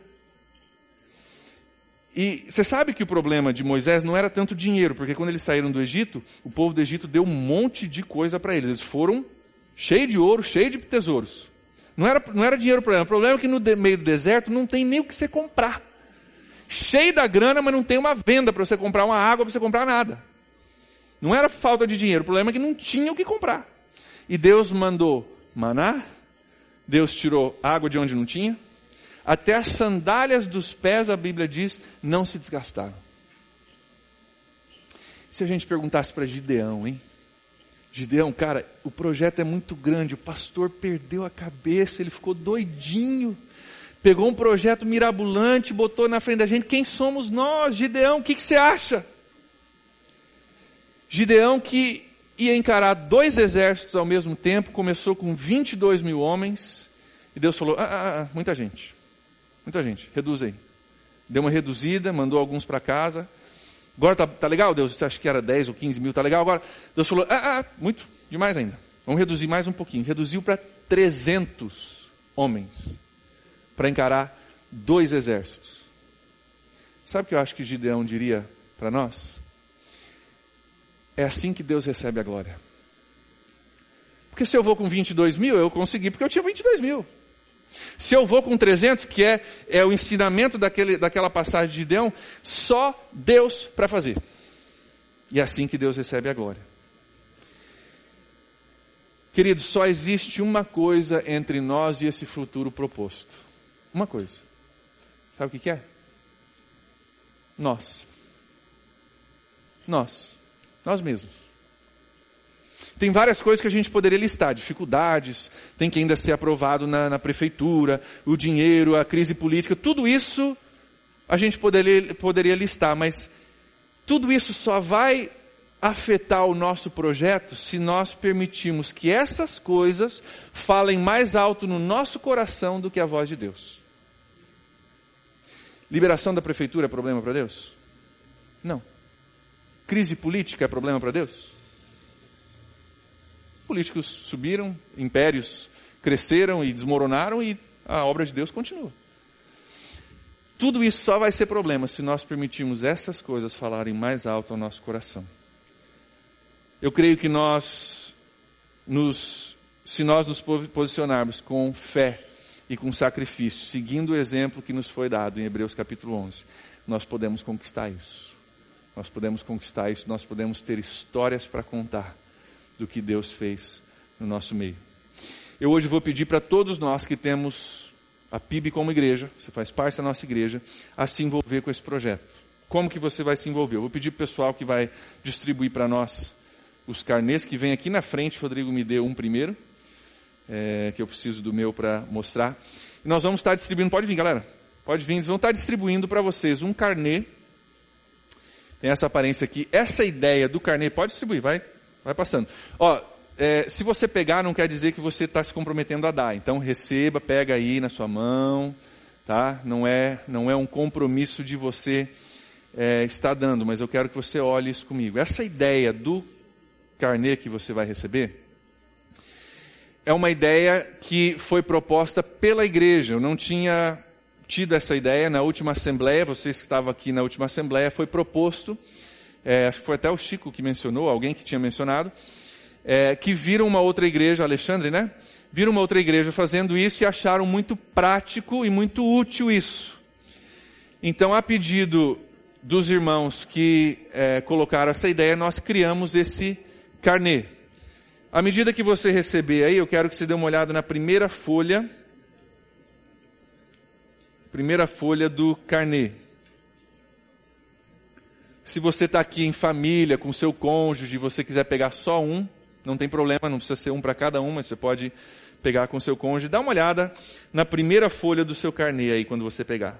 E você sabe que o problema de Moisés não era tanto dinheiro, porque quando eles saíram do Egito, o povo do Egito deu um monte de coisa para eles. Eles foram cheio de ouro, cheio de tesouros. Não era, não era dinheiro o problema. O problema é que no de, meio do deserto não tem nem o que você comprar. cheio da grana, mas não tem uma venda para você comprar uma água, para você comprar nada. Não era falta de dinheiro, o problema é que não tinha o que comprar. E Deus mandou maná, Deus tirou água de onde não tinha, até as sandálias dos pés, a Bíblia diz, não se desgastaram. Se a gente perguntasse para Gideão, hein? Gideão, cara, o projeto é muito grande, o pastor perdeu a cabeça, ele ficou doidinho, pegou um projeto mirabolante, botou na frente da gente, quem somos nós? Gideão, o que, que você acha? Gideão, que ia encarar dois exércitos ao mesmo tempo, começou com vinte e dois mil homens, e Deus falou, ah, ah, ah, muita gente, muita gente, reduz aí. Deu uma reduzida, mandou alguns para casa. Agora tá, tá legal, Deus? Você acha que era dez ou quinze mil, tá legal? Agora, Deus falou, ah, ah, muito, demais ainda. Vamos reduzir mais um pouquinho. Reduziu para trezentos homens, para encarar dois exércitos. Sabe o que eu acho que Gideão diria para nós? É assim que Deus recebe a glória. Porque se eu vou com vinte e dois mil, eu consegui porque eu tinha vinte e dois mil. Se eu vou com trezentos, que é, é o ensinamento daquele, daquela passagem de Gideão, só Deus para fazer. E é assim que Deus recebe a glória. Querido, só existe uma coisa entre nós e esse futuro proposto. Uma coisa. Sabe o que que é? Nós. Nós. Nós mesmos. Tem várias coisas que a gente poderia listar, dificuldades, tem que ainda ser aprovado na, na prefeitura, o dinheiro, a crise política, tudo isso a gente poderia, poderia listar, mas tudo isso só vai afetar o nosso projeto se nós permitirmos que essas coisas falem mais alto no nosso coração do que a voz de Deus. Liberação da prefeitura é problema para Deus? Não. Crise política é problema para Deus? Políticos subiram, impérios cresceram e desmoronaram e a obra de Deus continua. Tudo isso só vai ser problema se nós permitirmos essas coisas falarem mais alto ao nosso coração. Eu creio que nós, nos, se nós nos posicionarmos com fé e com sacrifício, seguindo o exemplo que nos foi dado em Hebreus capítulo onze, nós podemos conquistar isso. Nós podemos conquistar isso, nós podemos ter histórias para contar do que Deus fez no nosso meio. Eu hoje vou pedir para todos nós que temos a P I B como igreja, você faz parte da nossa igreja, a se envolver com esse projeto. Como que você vai se envolver? Eu vou pedir para o pessoal que vai distribuir para nós os carnês, que vem aqui na frente. Rodrigo me deu um primeiro, é, que eu preciso do meu para mostrar. E nós vamos estar distribuindo, pode vir galera, pode vir, eles vão estar distribuindo para vocês um carnê. Tem essa aparência aqui, essa ideia do carnê, pode distribuir, vai, vai passando. Ó, é, se você pegar, não quer dizer que você está se comprometendo a dar. Então receba, pega aí na sua mão, tá? Não é, não é um compromisso de você é, estar dando, mas eu quero que você olhe isso comigo. Essa ideia do carnê que você vai receber é uma ideia que foi proposta pela igreja. Eu não tinha tido essa ideia na última assembleia, vocês que estavam aqui na última assembleia, foi proposto, é, acho que foi até o Chico que mencionou, alguém que tinha mencionado, é, que viram uma outra igreja, Alexandre, né? Viram uma outra igreja fazendo isso e acharam muito prático e muito útil isso. Então, a pedido dos irmãos que é, colocaram essa ideia, nós criamos esse carnê. À medida que você receber aí, eu quero que você dê uma olhada na primeira folha, primeira folha do carnê. Se você está aqui em família, com seu cônjuge, e você quiser pegar só um, não tem problema, não precisa ser um para cada um, mas você pode pegar com seu cônjuge. Dá uma olhada na primeira folha do seu carnê aí, quando você pegar.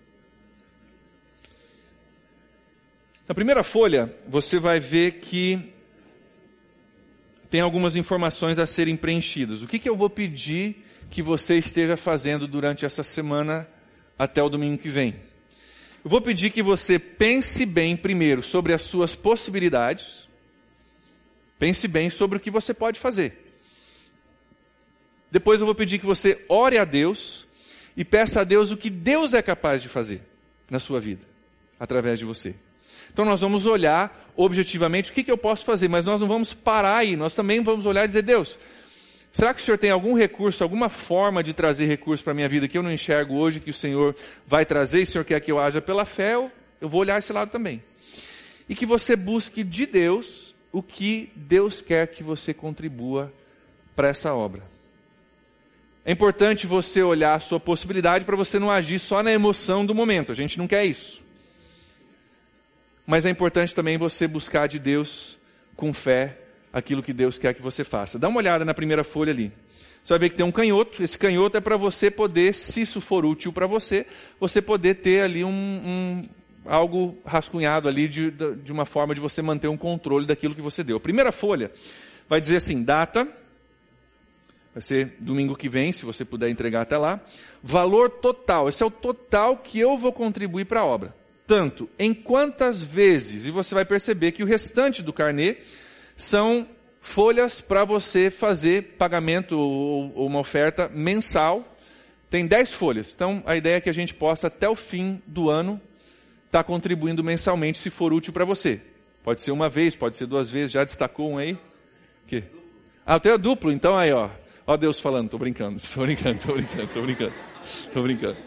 Na primeira folha, você vai ver que tem algumas informações a serem preenchidas. O que, que eu vou pedir que você esteja fazendo durante essa semana até o domingo que vem? Eu vou pedir que você pense bem primeiro sobre as suas possibilidades. Pense bem sobre o que você pode fazer. Depois eu vou pedir que você ore a Deus e peça a Deus o que Deus é capaz de fazer na sua vida, através de você. Então nós vamos olhar objetivamente o que, que eu posso fazer, mas nós não vamos parar aí, nós também vamos olhar e dizer, Deus, Será que o Senhor tem algum recurso, alguma forma de trazer recurso para a minha vida que eu não enxergo hoje, que o Senhor vai trazer e o Senhor quer que eu haja pela fé? Eu, eu vou olhar esse lado também. E que você busque de Deus o que Deus quer que você contribua para essa obra. É importante você olhar a sua possibilidade para você não agir só na emoção do momento. A gente não quer isso. Mas é importante também você buscar de Deus com fé aquilo que Deus quer que você faça. Dá uma olhada na primeira folha ali. Você vai ver que tem um canhoto. Esse canhoto é para você poder, se isso for útil para você, você poder ter ali um, um, algo rascunhado ali de, de uma forma de você manter um controle daquilo que você deu. A primeira folha vai dizer assim, data, vai ser domingo que vem, se você puder entregar até lá. Valor total, esse é o total que eu vou contribuir para a obra. Tanto, em quantas vezes, e você vai perceber que o restante do carnê são folhas para você fazer pagamento ou, ou uma oferta mensal. Tem dez folhas, então a ideia é que a gente possa até o fim do ano estar contribuindo mensalmente se for útil para você. Pode ser uma vez, pode ser duas vezes, já destacou um aí? Que? Ah, o teu é duplo, então aí ó, ó Deus falando, tô brincando, tô brincando, tô brincando, tô brincando, tô brincando.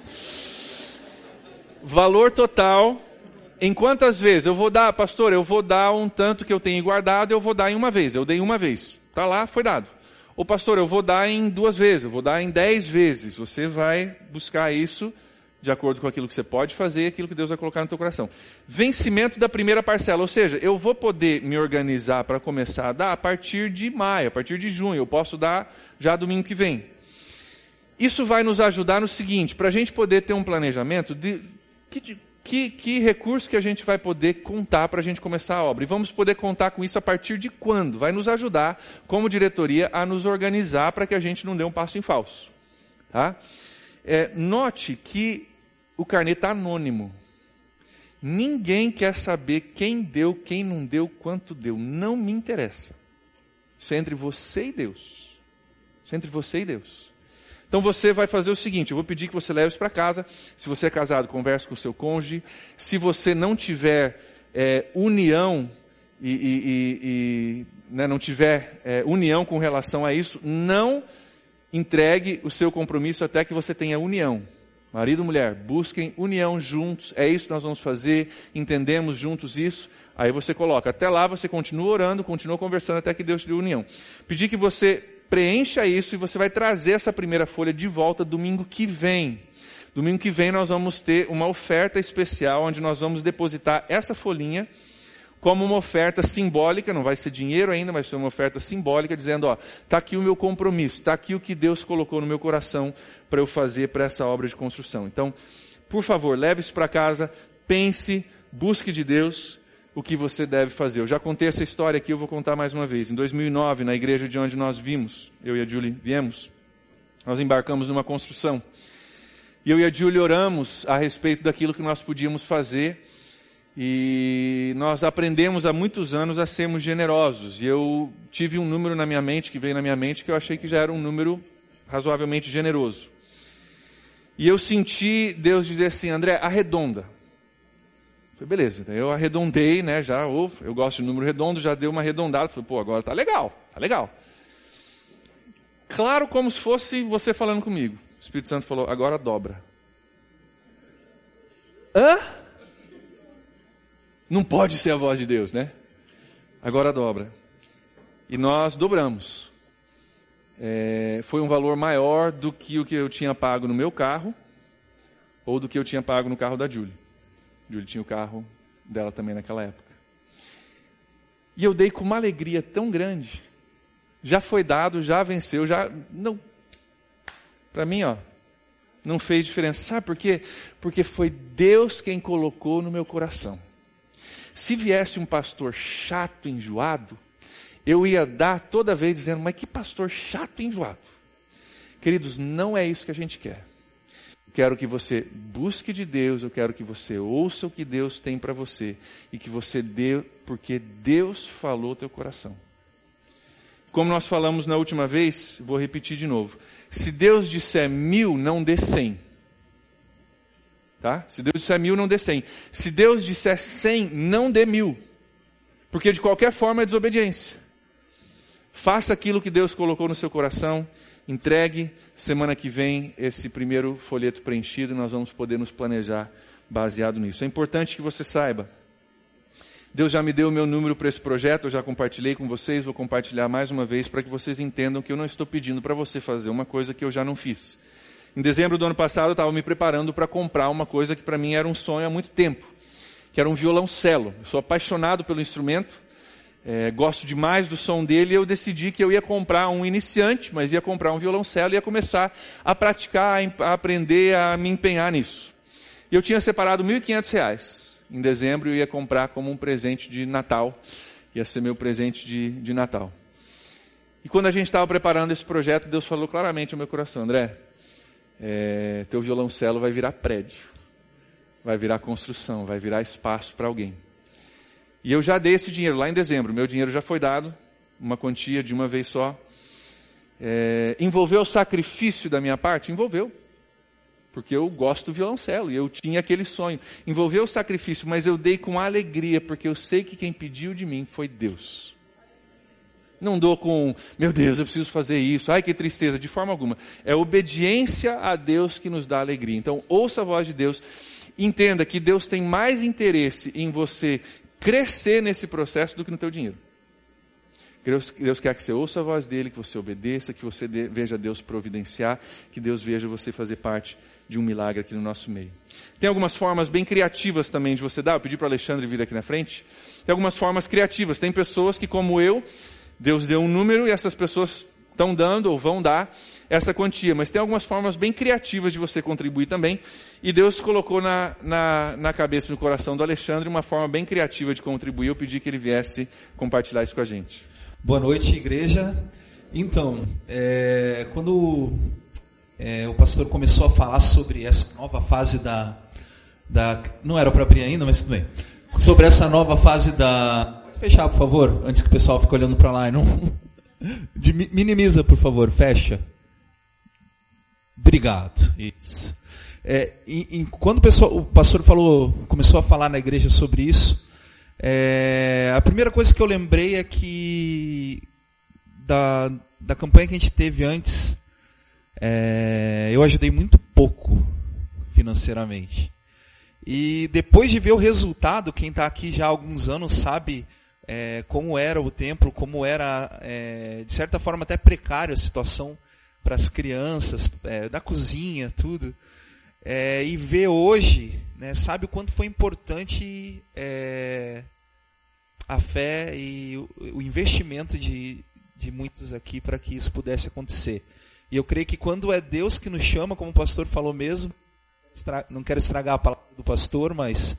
Valor total, em quantas vezes? Eu vou dar, pastor, eu vou dar um tanto que eu tenho guardado, eu vou dar em uma vez. Eu dei uma vez. Está lá, foi dado. Ou pastor, eu vou dar em duas vezes, eu vou dar em dez vezes. Você vai buscar isso de acordo com aquilo que você pode fazer, aquilo que Deus vai colocar no teu coração. Vencimento da primeira parcela, ou seja, eu vou poder me organizar para começar a dar a partir de maio, a partir de junho. Eu posso dar já domingo que vem. Isso vai nos ajudar no seguinte, para a gente poder ter um planejamento de... Que, que, que recurso que a gente vai poder contar para a gente começar a obra? E vamos poder contar com isso a partir de quando? Vai nos ajudar, como diretoria, a nos organizar para que a gente não dê um passo em falso. Tá? É, note que o carnê está anônimo. Ninguém quer saber quem deu, quem não deu, quanto deu. Não me interessa. Isso é entre você e Deus. Isso é entre você e Deus. Então você vai fazer o seguinte, eu vou pedir que você leve isso para casa. Se você é casado, converse com o seu cônjuge. Se você não tiver é, união e, e, e, e né, não tiver é, união com relação a isso, não entregue o seu compromisso até que você tenha união. Marido e mulher, busquem união juntos. É isso que nós vamos fazer. Entendemos juntos isso. Aí você coloca. Até lá você continua orando, continua conversando até que Deus te dê união. Pedir que você preencha isso e você vai trazer essa primeira folha de volta domingo que vem. Domingo que vem nós vamos ter uma oferta especial onde nós vamos depositar essa folhinha como uma oferta simbólica, não vai ser dinheiro ainda, mas vai ser uma oferta simbólica, dizendo, ó, está aqui o meu compromisso, está aqui o que Deus colocou no meu coração para eu fazer para essa obra de construção. Então, por favor, leve isso para casa, pense, busque de Deus o que você deve fazer. Eu já contei essa história aqui, eu vou contar mais uma vez. Em dois mil e nove, na igreja de onde nós vimos, eu e a Julie viemos, nós embarcamos numa construção. E eu e a Julie oramos a respeito daquilo que nós podíamos fazer. E nós aprendemos há muitos anos a sermos generosos. E eu tive um número na minha mente, que veio na minha mente, que eu achei que já era um número razoavelmente generoso. E eu senti Deus dizer assim, André, arredonda. Falei, beleza, eu arredondei, né, já, oh, eu gosto de número redondo, já deu uma arredondada. Falei, pô, agora tá legal, tá legal. Claro como se fosse você falando comigo. O Espírito Santo falou, agora dobra. Hã? Não pode ser a voz de Deus, né? Agora dobra. E nós dobramos. É, foi um valor maior do que o que eu tinha pago no meu carro, ou do que eu tinha pago no carro da Julie. Julie tinha o carro dela também naquela época. E eu dei com uma alegria tão grande. Já foi dado, já venceu, já... não. Para mim, ó, não fez diferença. Sabe por quê? Porque foi Deus quem colocou no meu coração. Se viesse um pastor chato, enjoado, eu ia dar toda vez dizendo, mas que pastor chato e enjoado. Queridos, não é isso que a gente quer. Eu quero que você busque de Deus, eu quero que você ouça o que Deus tem para você. E que você dê, porque Deus falou teu coração. Como nós falamos na última vez, vou repetir de novo. Se Deus disser mil, não dê cem. Tá? Se Deus disser mil, não dê cem. Se Deus disser cem, não dê mil. Porque de qualquer forma é desobediência. Faça aquilo que Deus colocou no seu coração, entregue. Semana que vem, esse primeiro folheto preenchido, nós vamos poder nos planejar baseado nisso. É importante que você saiba. Deus já me deu o meu número para esse projeto, eu já compartilhei com vocês, vou compartilhar mais uma vez para que vocês entendam que eu não estou pedindo para você fazer uma coisa que eu já não fiz. Em dezembro do ano passado, eu estava me preparando para comprar uma coisa que para mim era um sonho há muito tempo, que era um violoncelo. Eu sou apaixonado pelo instrumento, é, gosto demais do som dele, e eu decidi que eu ia comprar um iniciante, mas ia comprar um violoncelo e ia começar a praticar, a aprender, a me empenhar nisso. E eu tinha separado mil e quinhentos reais. Em dezembro eu ia comprar como um presente de Natal. Ia ser meu presente de, de Natal. E quando a gente estava preparando esse projeto, Deus falou claramente ao meu coração: André, é, teu violoncelo vai virar prédio. Vai virar construção, vai virar espaço para alguém. E eu já dei esse dinheiro lá em dezembro. Meu dinheiro já foi dado, uma quantia de uma vez só. É, envolveu o sacrifício da minha parte? Envolveu. Porque eu gosto do violoncelo e eu tinha aquele sonho. Envolveu o sacrifício, mas eu dei com alegria, porque eu sei que quem pediu de mim foi Deus. Não dou com, meu Deus, eu preciso fazer isso, ai que tristeza, de forma alguma. É obediência a Deus que nos dá alegria. Então, ouça a voz de Deus. Entenda que Deus tem mais interesse em você crescer nesse processo do que no teu dinheiro. Deus, Deus quer que você ouça a voz dele, que você obedeça, que você de, veja Deus providenciar, que Deus veja você fazer parte de um milagre aqui no nosso meio. Tem algumas formas bem criativas também de você dar. Eu pedi para o Alexandre vir aqui na frente. Tem algumas formas criativas. Tem pessoas que, como eu, Deus deu um número e essas pessoas estão dando ou vão dar essa quantia. Mas tem algumas formas bem criativas de você contribuir também. E Deus colocou na, na, na cabeça e no coração do Alexandre uma forma bem criativa de contribuir. Eu pedi que ele viesse compartilhar isso com a gente. Boa noite, igreja. Então, é, quando é, o pastor começou a falar sobre essa nova fase da... da não era para abrir ainda, mas tudo bem. Sobre essa nova fase da... Fechar, por favor, antes que o pessoal fique olhando para lá e não... De, minimiza, por favor, fecha. Obrigado. Isso. É, e, e, quando o, pessoal, o pastor falou, começou a falar na igreja sobre isso, É, a primeira coisa que eu lembrei é que da, da campanha que a gente teve antes, é, eu ajudei muito pouco financeiramente. E depois de ver o resultado, quem está aqui já há alguns anos sabe é, como era o templo, como era, é, de certa forma, até precária a situação para as crianças, é, da cozinha, tudo. É, e ver hoje, né, sabe o quanto foi importante é, a fé e o, o investimento de, de muitos aqui para que isso pudesse acontecer. E eu creio que quando é Deus que nos chama, como o pastor falou mesmo, estra, não quero estragar a palavra do pastor, mas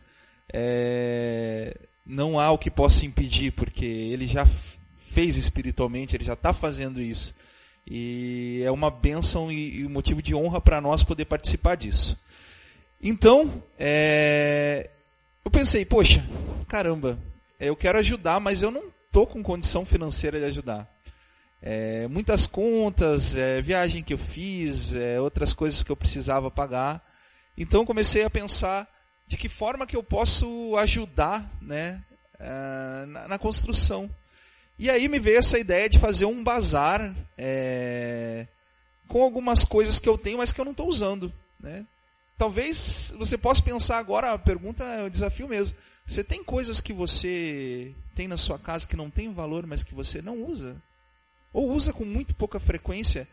é, não há o que possa impedir, porque ele já fez espiritualmente, ele já está fazendo isso. E é uma bênção e um motivo de honra para nós poder participar disso. Então, é, eu pensei, poxa, caramba, eu quero ajudar, mas eu não estou com condição financeira de ajudar. É, muitas contas, é, viagem que eu fiz, é, outras coisas que eu precisava pagar. Então, comecei a pensar de que forma que eu posso ajudar, né, é, na, na construção. E aí me veio essa ideia de fazer um bazar é, com algumas coisas que eu tenho, mas que eu não estou usando. Né? Talvez você possa pensar agora, a pergunta é o desafio mesmo. Você tem coisas que você tem na sua casa que não tem valor, mas que você não usa? Ou usa com muito pouca frequência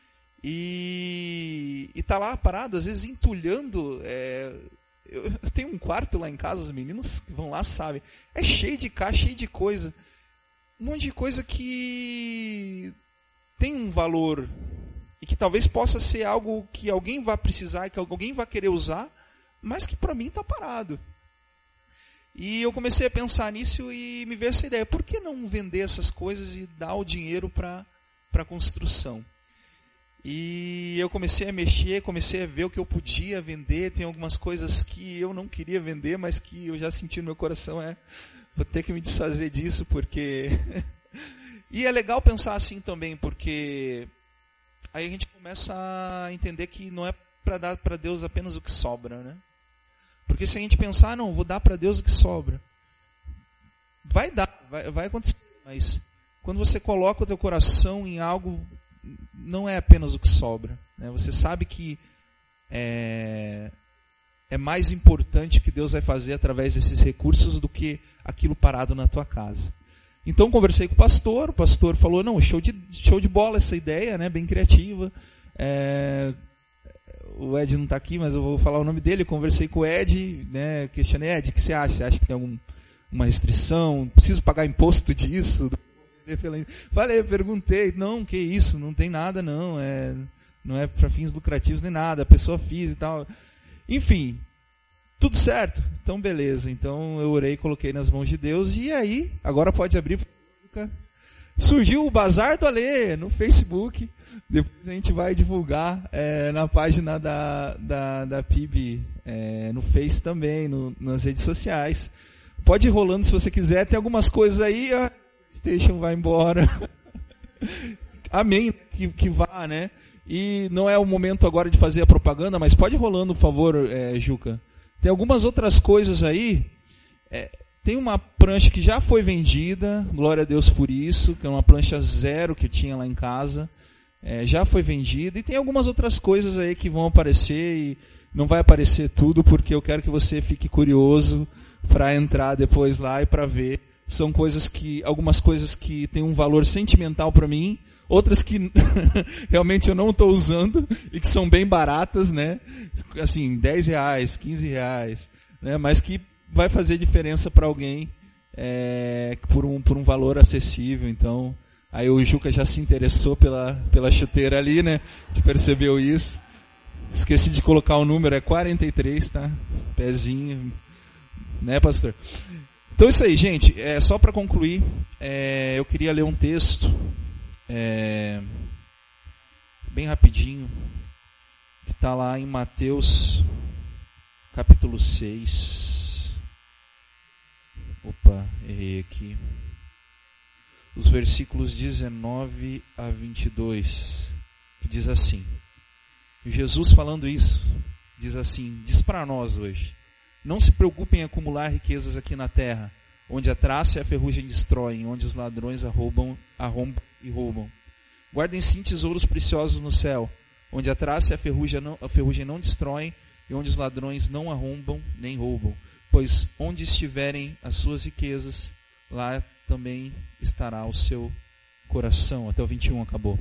e está lá parado, às vezes entulhando. É, eu, eu tenho um quarto lá em casa, os meninos que vão lá sabem. É cheio de caixa, cheio de coisa. Um monte de coisa que tem um valor e que talvez possa ser algo que alguém vai precisar, que alguém vai querer usar, mas que para mim está parado. E eu comecei a pensar nisso e me veio essa ideia, por que não vender essas coisas e dar o dinheiro para a construção? E eu comecei a mexer, comecei a ver o que eu podia vender, tem algumas coisas que eu não queria vender, mas que eu já senti no meu coração, é... vou ter que me desfazer disso, porque... E é legal pensar assim também, porque aí a gente começa a entender que não é para dar para Deus apenas o que sobra, né? Porque se a gente pensar, não, vou dar para Deus o que sobra, vai dar, vai, vai acontecer, mas quando você coloca o teu coração em algo, não é apenas o que sobra, né? Você sabe que é, é mais importante o que Deus vai fazer através desses recursos do que aquilo parado na tua casa. Então conversei com o pastor, o pastor falou, não, show de, show de bola essa ideia, né? Bem criativa. É, o Ed não está aqui, mas eu vou falar o nome dele. Eu conversei com o Ed, né? Questionei, Ed, o que você acha? Você acha que tem alguma restrição? Preciso pagar imposto disso? Falei, perguntei, não, que isso, não tem nada não, é, não é para fins lucrativos nem nada, a pessoa fez e tal. Enfim, tudo certo, então beleza, então eu orei, coloquei nas mãos de Deus, e aí, agora pode abrir. Surgiu o Bazar do Alê no Facebook, depois a gente vai divulgar é, na página da, da, da P I B, é, no Face também, no, nas redes sociais. Pode ir rolando se você quiser, tem algumas coisas aí, a PlayStation vai embora. Amém, que, que vá, né? E não é o momento agora de fazer a propaganda, mas pode ir rolando, por favor, é, Juca. Tem algumas outras coisas aí. É, tem uma prancha que já foi vendida, glória a Deus por isso, que é uma prancha zero que eu tinha lá em casa. É, já foi vendida. E tem algumas outras coisas aí que vão aparecer e não vai aparecer tudo, porque eu quero que você fique curioso para entrar depois lá e para ver. São coisas que, algumas coisas que têm um valor sentimental para mim, outras que realmente eu não estou usando e que são bem baratas, né? Assim, dez reais, quinze reais, né? Mas que vai fazer diferença para alguém é, por, um, por um valor acessível. Então, aí o Juca já se interessou pela, pela chuteira ali, né? Você percebeu isso? Esqueci de colocar o número, é quarenta e três, tá? Pezinho, né, pastor? Então isso aí, gente, é, só para concluir, é, eu queria ler um texto, é, bem rapidinho, que está lá em Mateus, capítulo seis. Opa, errei aqui. Os versículos dezenove a vinte e dois, que diz assim, Jesus falando isso, diz assim, diz para nós hoje, não se preocupem em acumular riquezas aqui na terra, onde a traça e a ferrugem destroem, onde os ladrões arrombam, arrombam e roubam. Guardem sim tesouros preciosos no céu, onde a traça e a ferrugem não, a ferrugem não destroem, e onde os ladrões não arrombam nem roubam. Pois onde estiverem as suas riquezas, lá também estará o seu coração. Até o vinte e um acabou.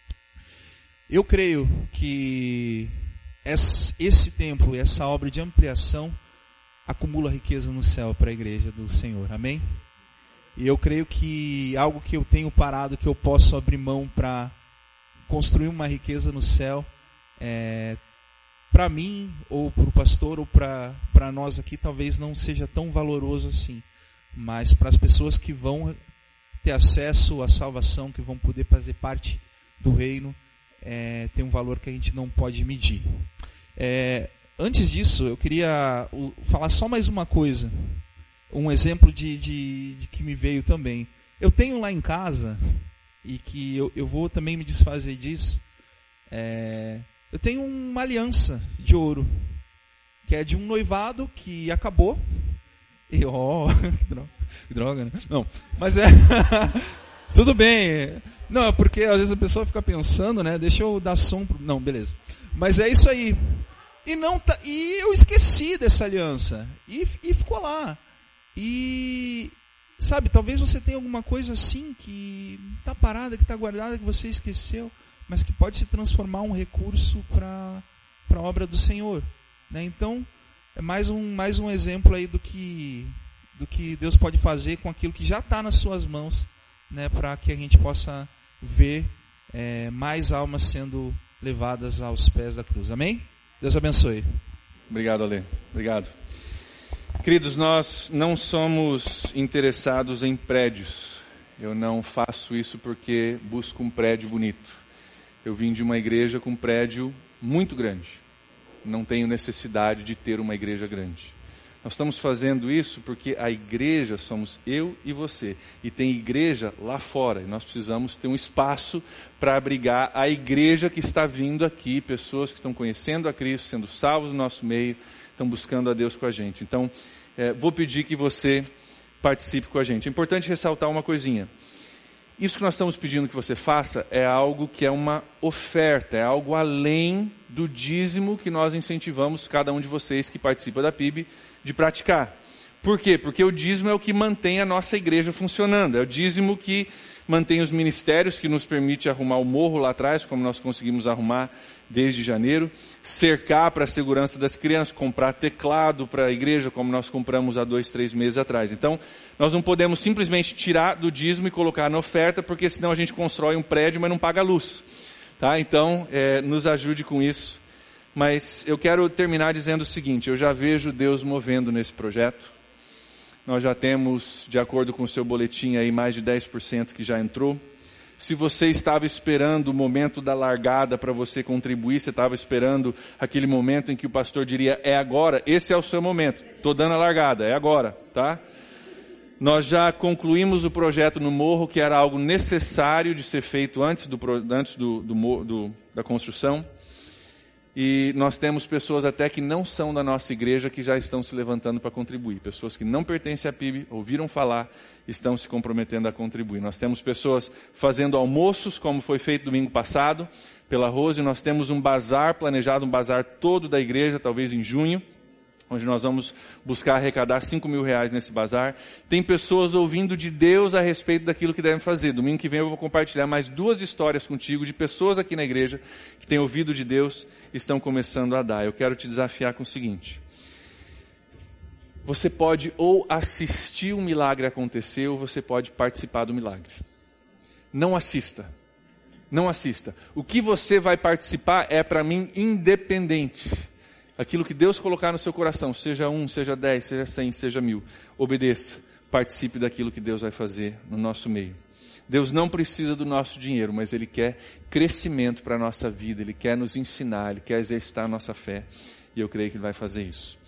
Eu creio que esse tempo, essa obra de ampliação, acumula riqueza no céu para a igreja do Senhor, amém? E eu creio que algo que eu tenho parado, que eu posso abrir mão para construir uma riqueza no céu, é, para mim, ou para o pastor, ou para nós aqui, talvez não seja tão valoroso assim, mas para as pessoas que vão ter acesso à salvação, que vão poder fazer parte do reino, é, tem um valor que a gente não pode medir. É, Antes disso, eu queria falar só mais uma coisa, um exemplo de, de, de que me veio também. Eu tenho lá em casa, e que eu, eu vou também me desfazer disso, é, eu tenho uma aliança de ouro, que é de um noivado que acabou, e ó, oh, que droga, que droga, né? Não, mas é, tudo bem, não, é porque às vezes a pessoa fica pensando, né, deixa eu dar som, pro... não, beleza, mas é isso aí. E, não tá, e eu esqueci dessa aliança. E, e ficou lá. E, sabe, talvez você tenha alguma coisa assim que está parada, que está guardada, que você esqueceu, mas que pode se transformar um recurso para a obra do Senhor. Né? Então, é mais um, mais um exemplo aí do que, do que Deus pode fazer com aquilo que já está nas suas mãos, né? Para que a gente possa ver é, mais almas sendo levadas aos pés da cruz. Amém? Deus abençoe. Obrigado, Ale. Obrigado. Queridos, nós não somos interessados em prédios. Eu não faço isso porque busco um prédio bonito. Eu vim de uma igreja com um prédio muito grande. Não tenho necessidade de ter uma igreja grande. Nós estamos fazendo isso porque a igreja somos eu e você. E tem igreja lá fora. E nós precisamos ter um espaço para abrigar a igreja que está vindo aqui. Pessoas que estão conhecendo a Cristo, sendo salvos no nosso meio, estão buscando a Deus com a gente. Então, é, vou pedir que você participe com a gente. É importante ressaltar uma coisinha. Isso que nós estamos pedindo que você faça é algo que é uma oferta, é algo além do dízimo que nós incentivamos cada um de vocês que participa da P I B de praticar. Por quê? Porque o dízimo é o que mantém a nossa igreja funcionando, é o dízimo que mantém os ministérios, que nos permite arrumar o morro lá atrás, como nós conseguimos arrumar desde janeiro, cercar para a segurança das crianças, comprar teclado para a igreja, como nós compramos há dois, três meses atrás. Então, nós não podemos simplesmente tirar do dízimo e colocar na oferta, porque senão a gente constrói um prédio, mas não paga a luz. Tá? Então, é, nos ajude com isso. Mas eu quero terminar dizendo o seguinte, eu já vejo Deus movendo nesse projeto. Nós já temos, de acordo com o seu boletim, aí, mais de dez por cento que já entrou. Se você estava esperando o momento da largada para você contribuir, você estava esperando aquele momento em que o pastor diria, é agora, esse é o seu momento. Estou dando a largada, é agora, tá? Nós já concluímos o projeto no morro, que era algo necessário de ser feito antes, do, antes do, do, do, da construção. E nós temos pessoas até que não são da nossa igreja que já estão se levantando para contribuir. Pessoas que não pertencem à P I B, ouviram falar, estão se comprometendo a contribuir. Nós temos pessoas fazendo almoços, como foi feito domingo passado, pela Rose. Nós temos um bazar planejado, um bazar todo da igreja, talvez em junho, onde nós vamos buscar arrecadar cinco mil reais nesse bazar. Tem pessoas ouvindo de Deus a respeito daquilo que devem fazer. Domingo que vem eu vou compartilhar mais duas histórias contigo de pessoas aqui na igreja que têm ouvido de Deus e estão começando a dar. Eu quero te desafiar com o seguinte. Você pode ou assistir um milagre acontecer ou você pode participar do milagre. Não assista. Não assista. O que você vai participar é, para mim, independente. Aquilo que Deus colocar no seu coração, seja um, seja dez, seja cem, seja mil, obedeça, participe daquilo que Deus vai fazer no nosso meio. Deus não precisa do nosso dinheiro, mas Ele quer crescimento para a nossa vida, Ele quer nos ensinar, Ele quer exercitar a nossa fé, e eu creio que Ele vai fazer isso.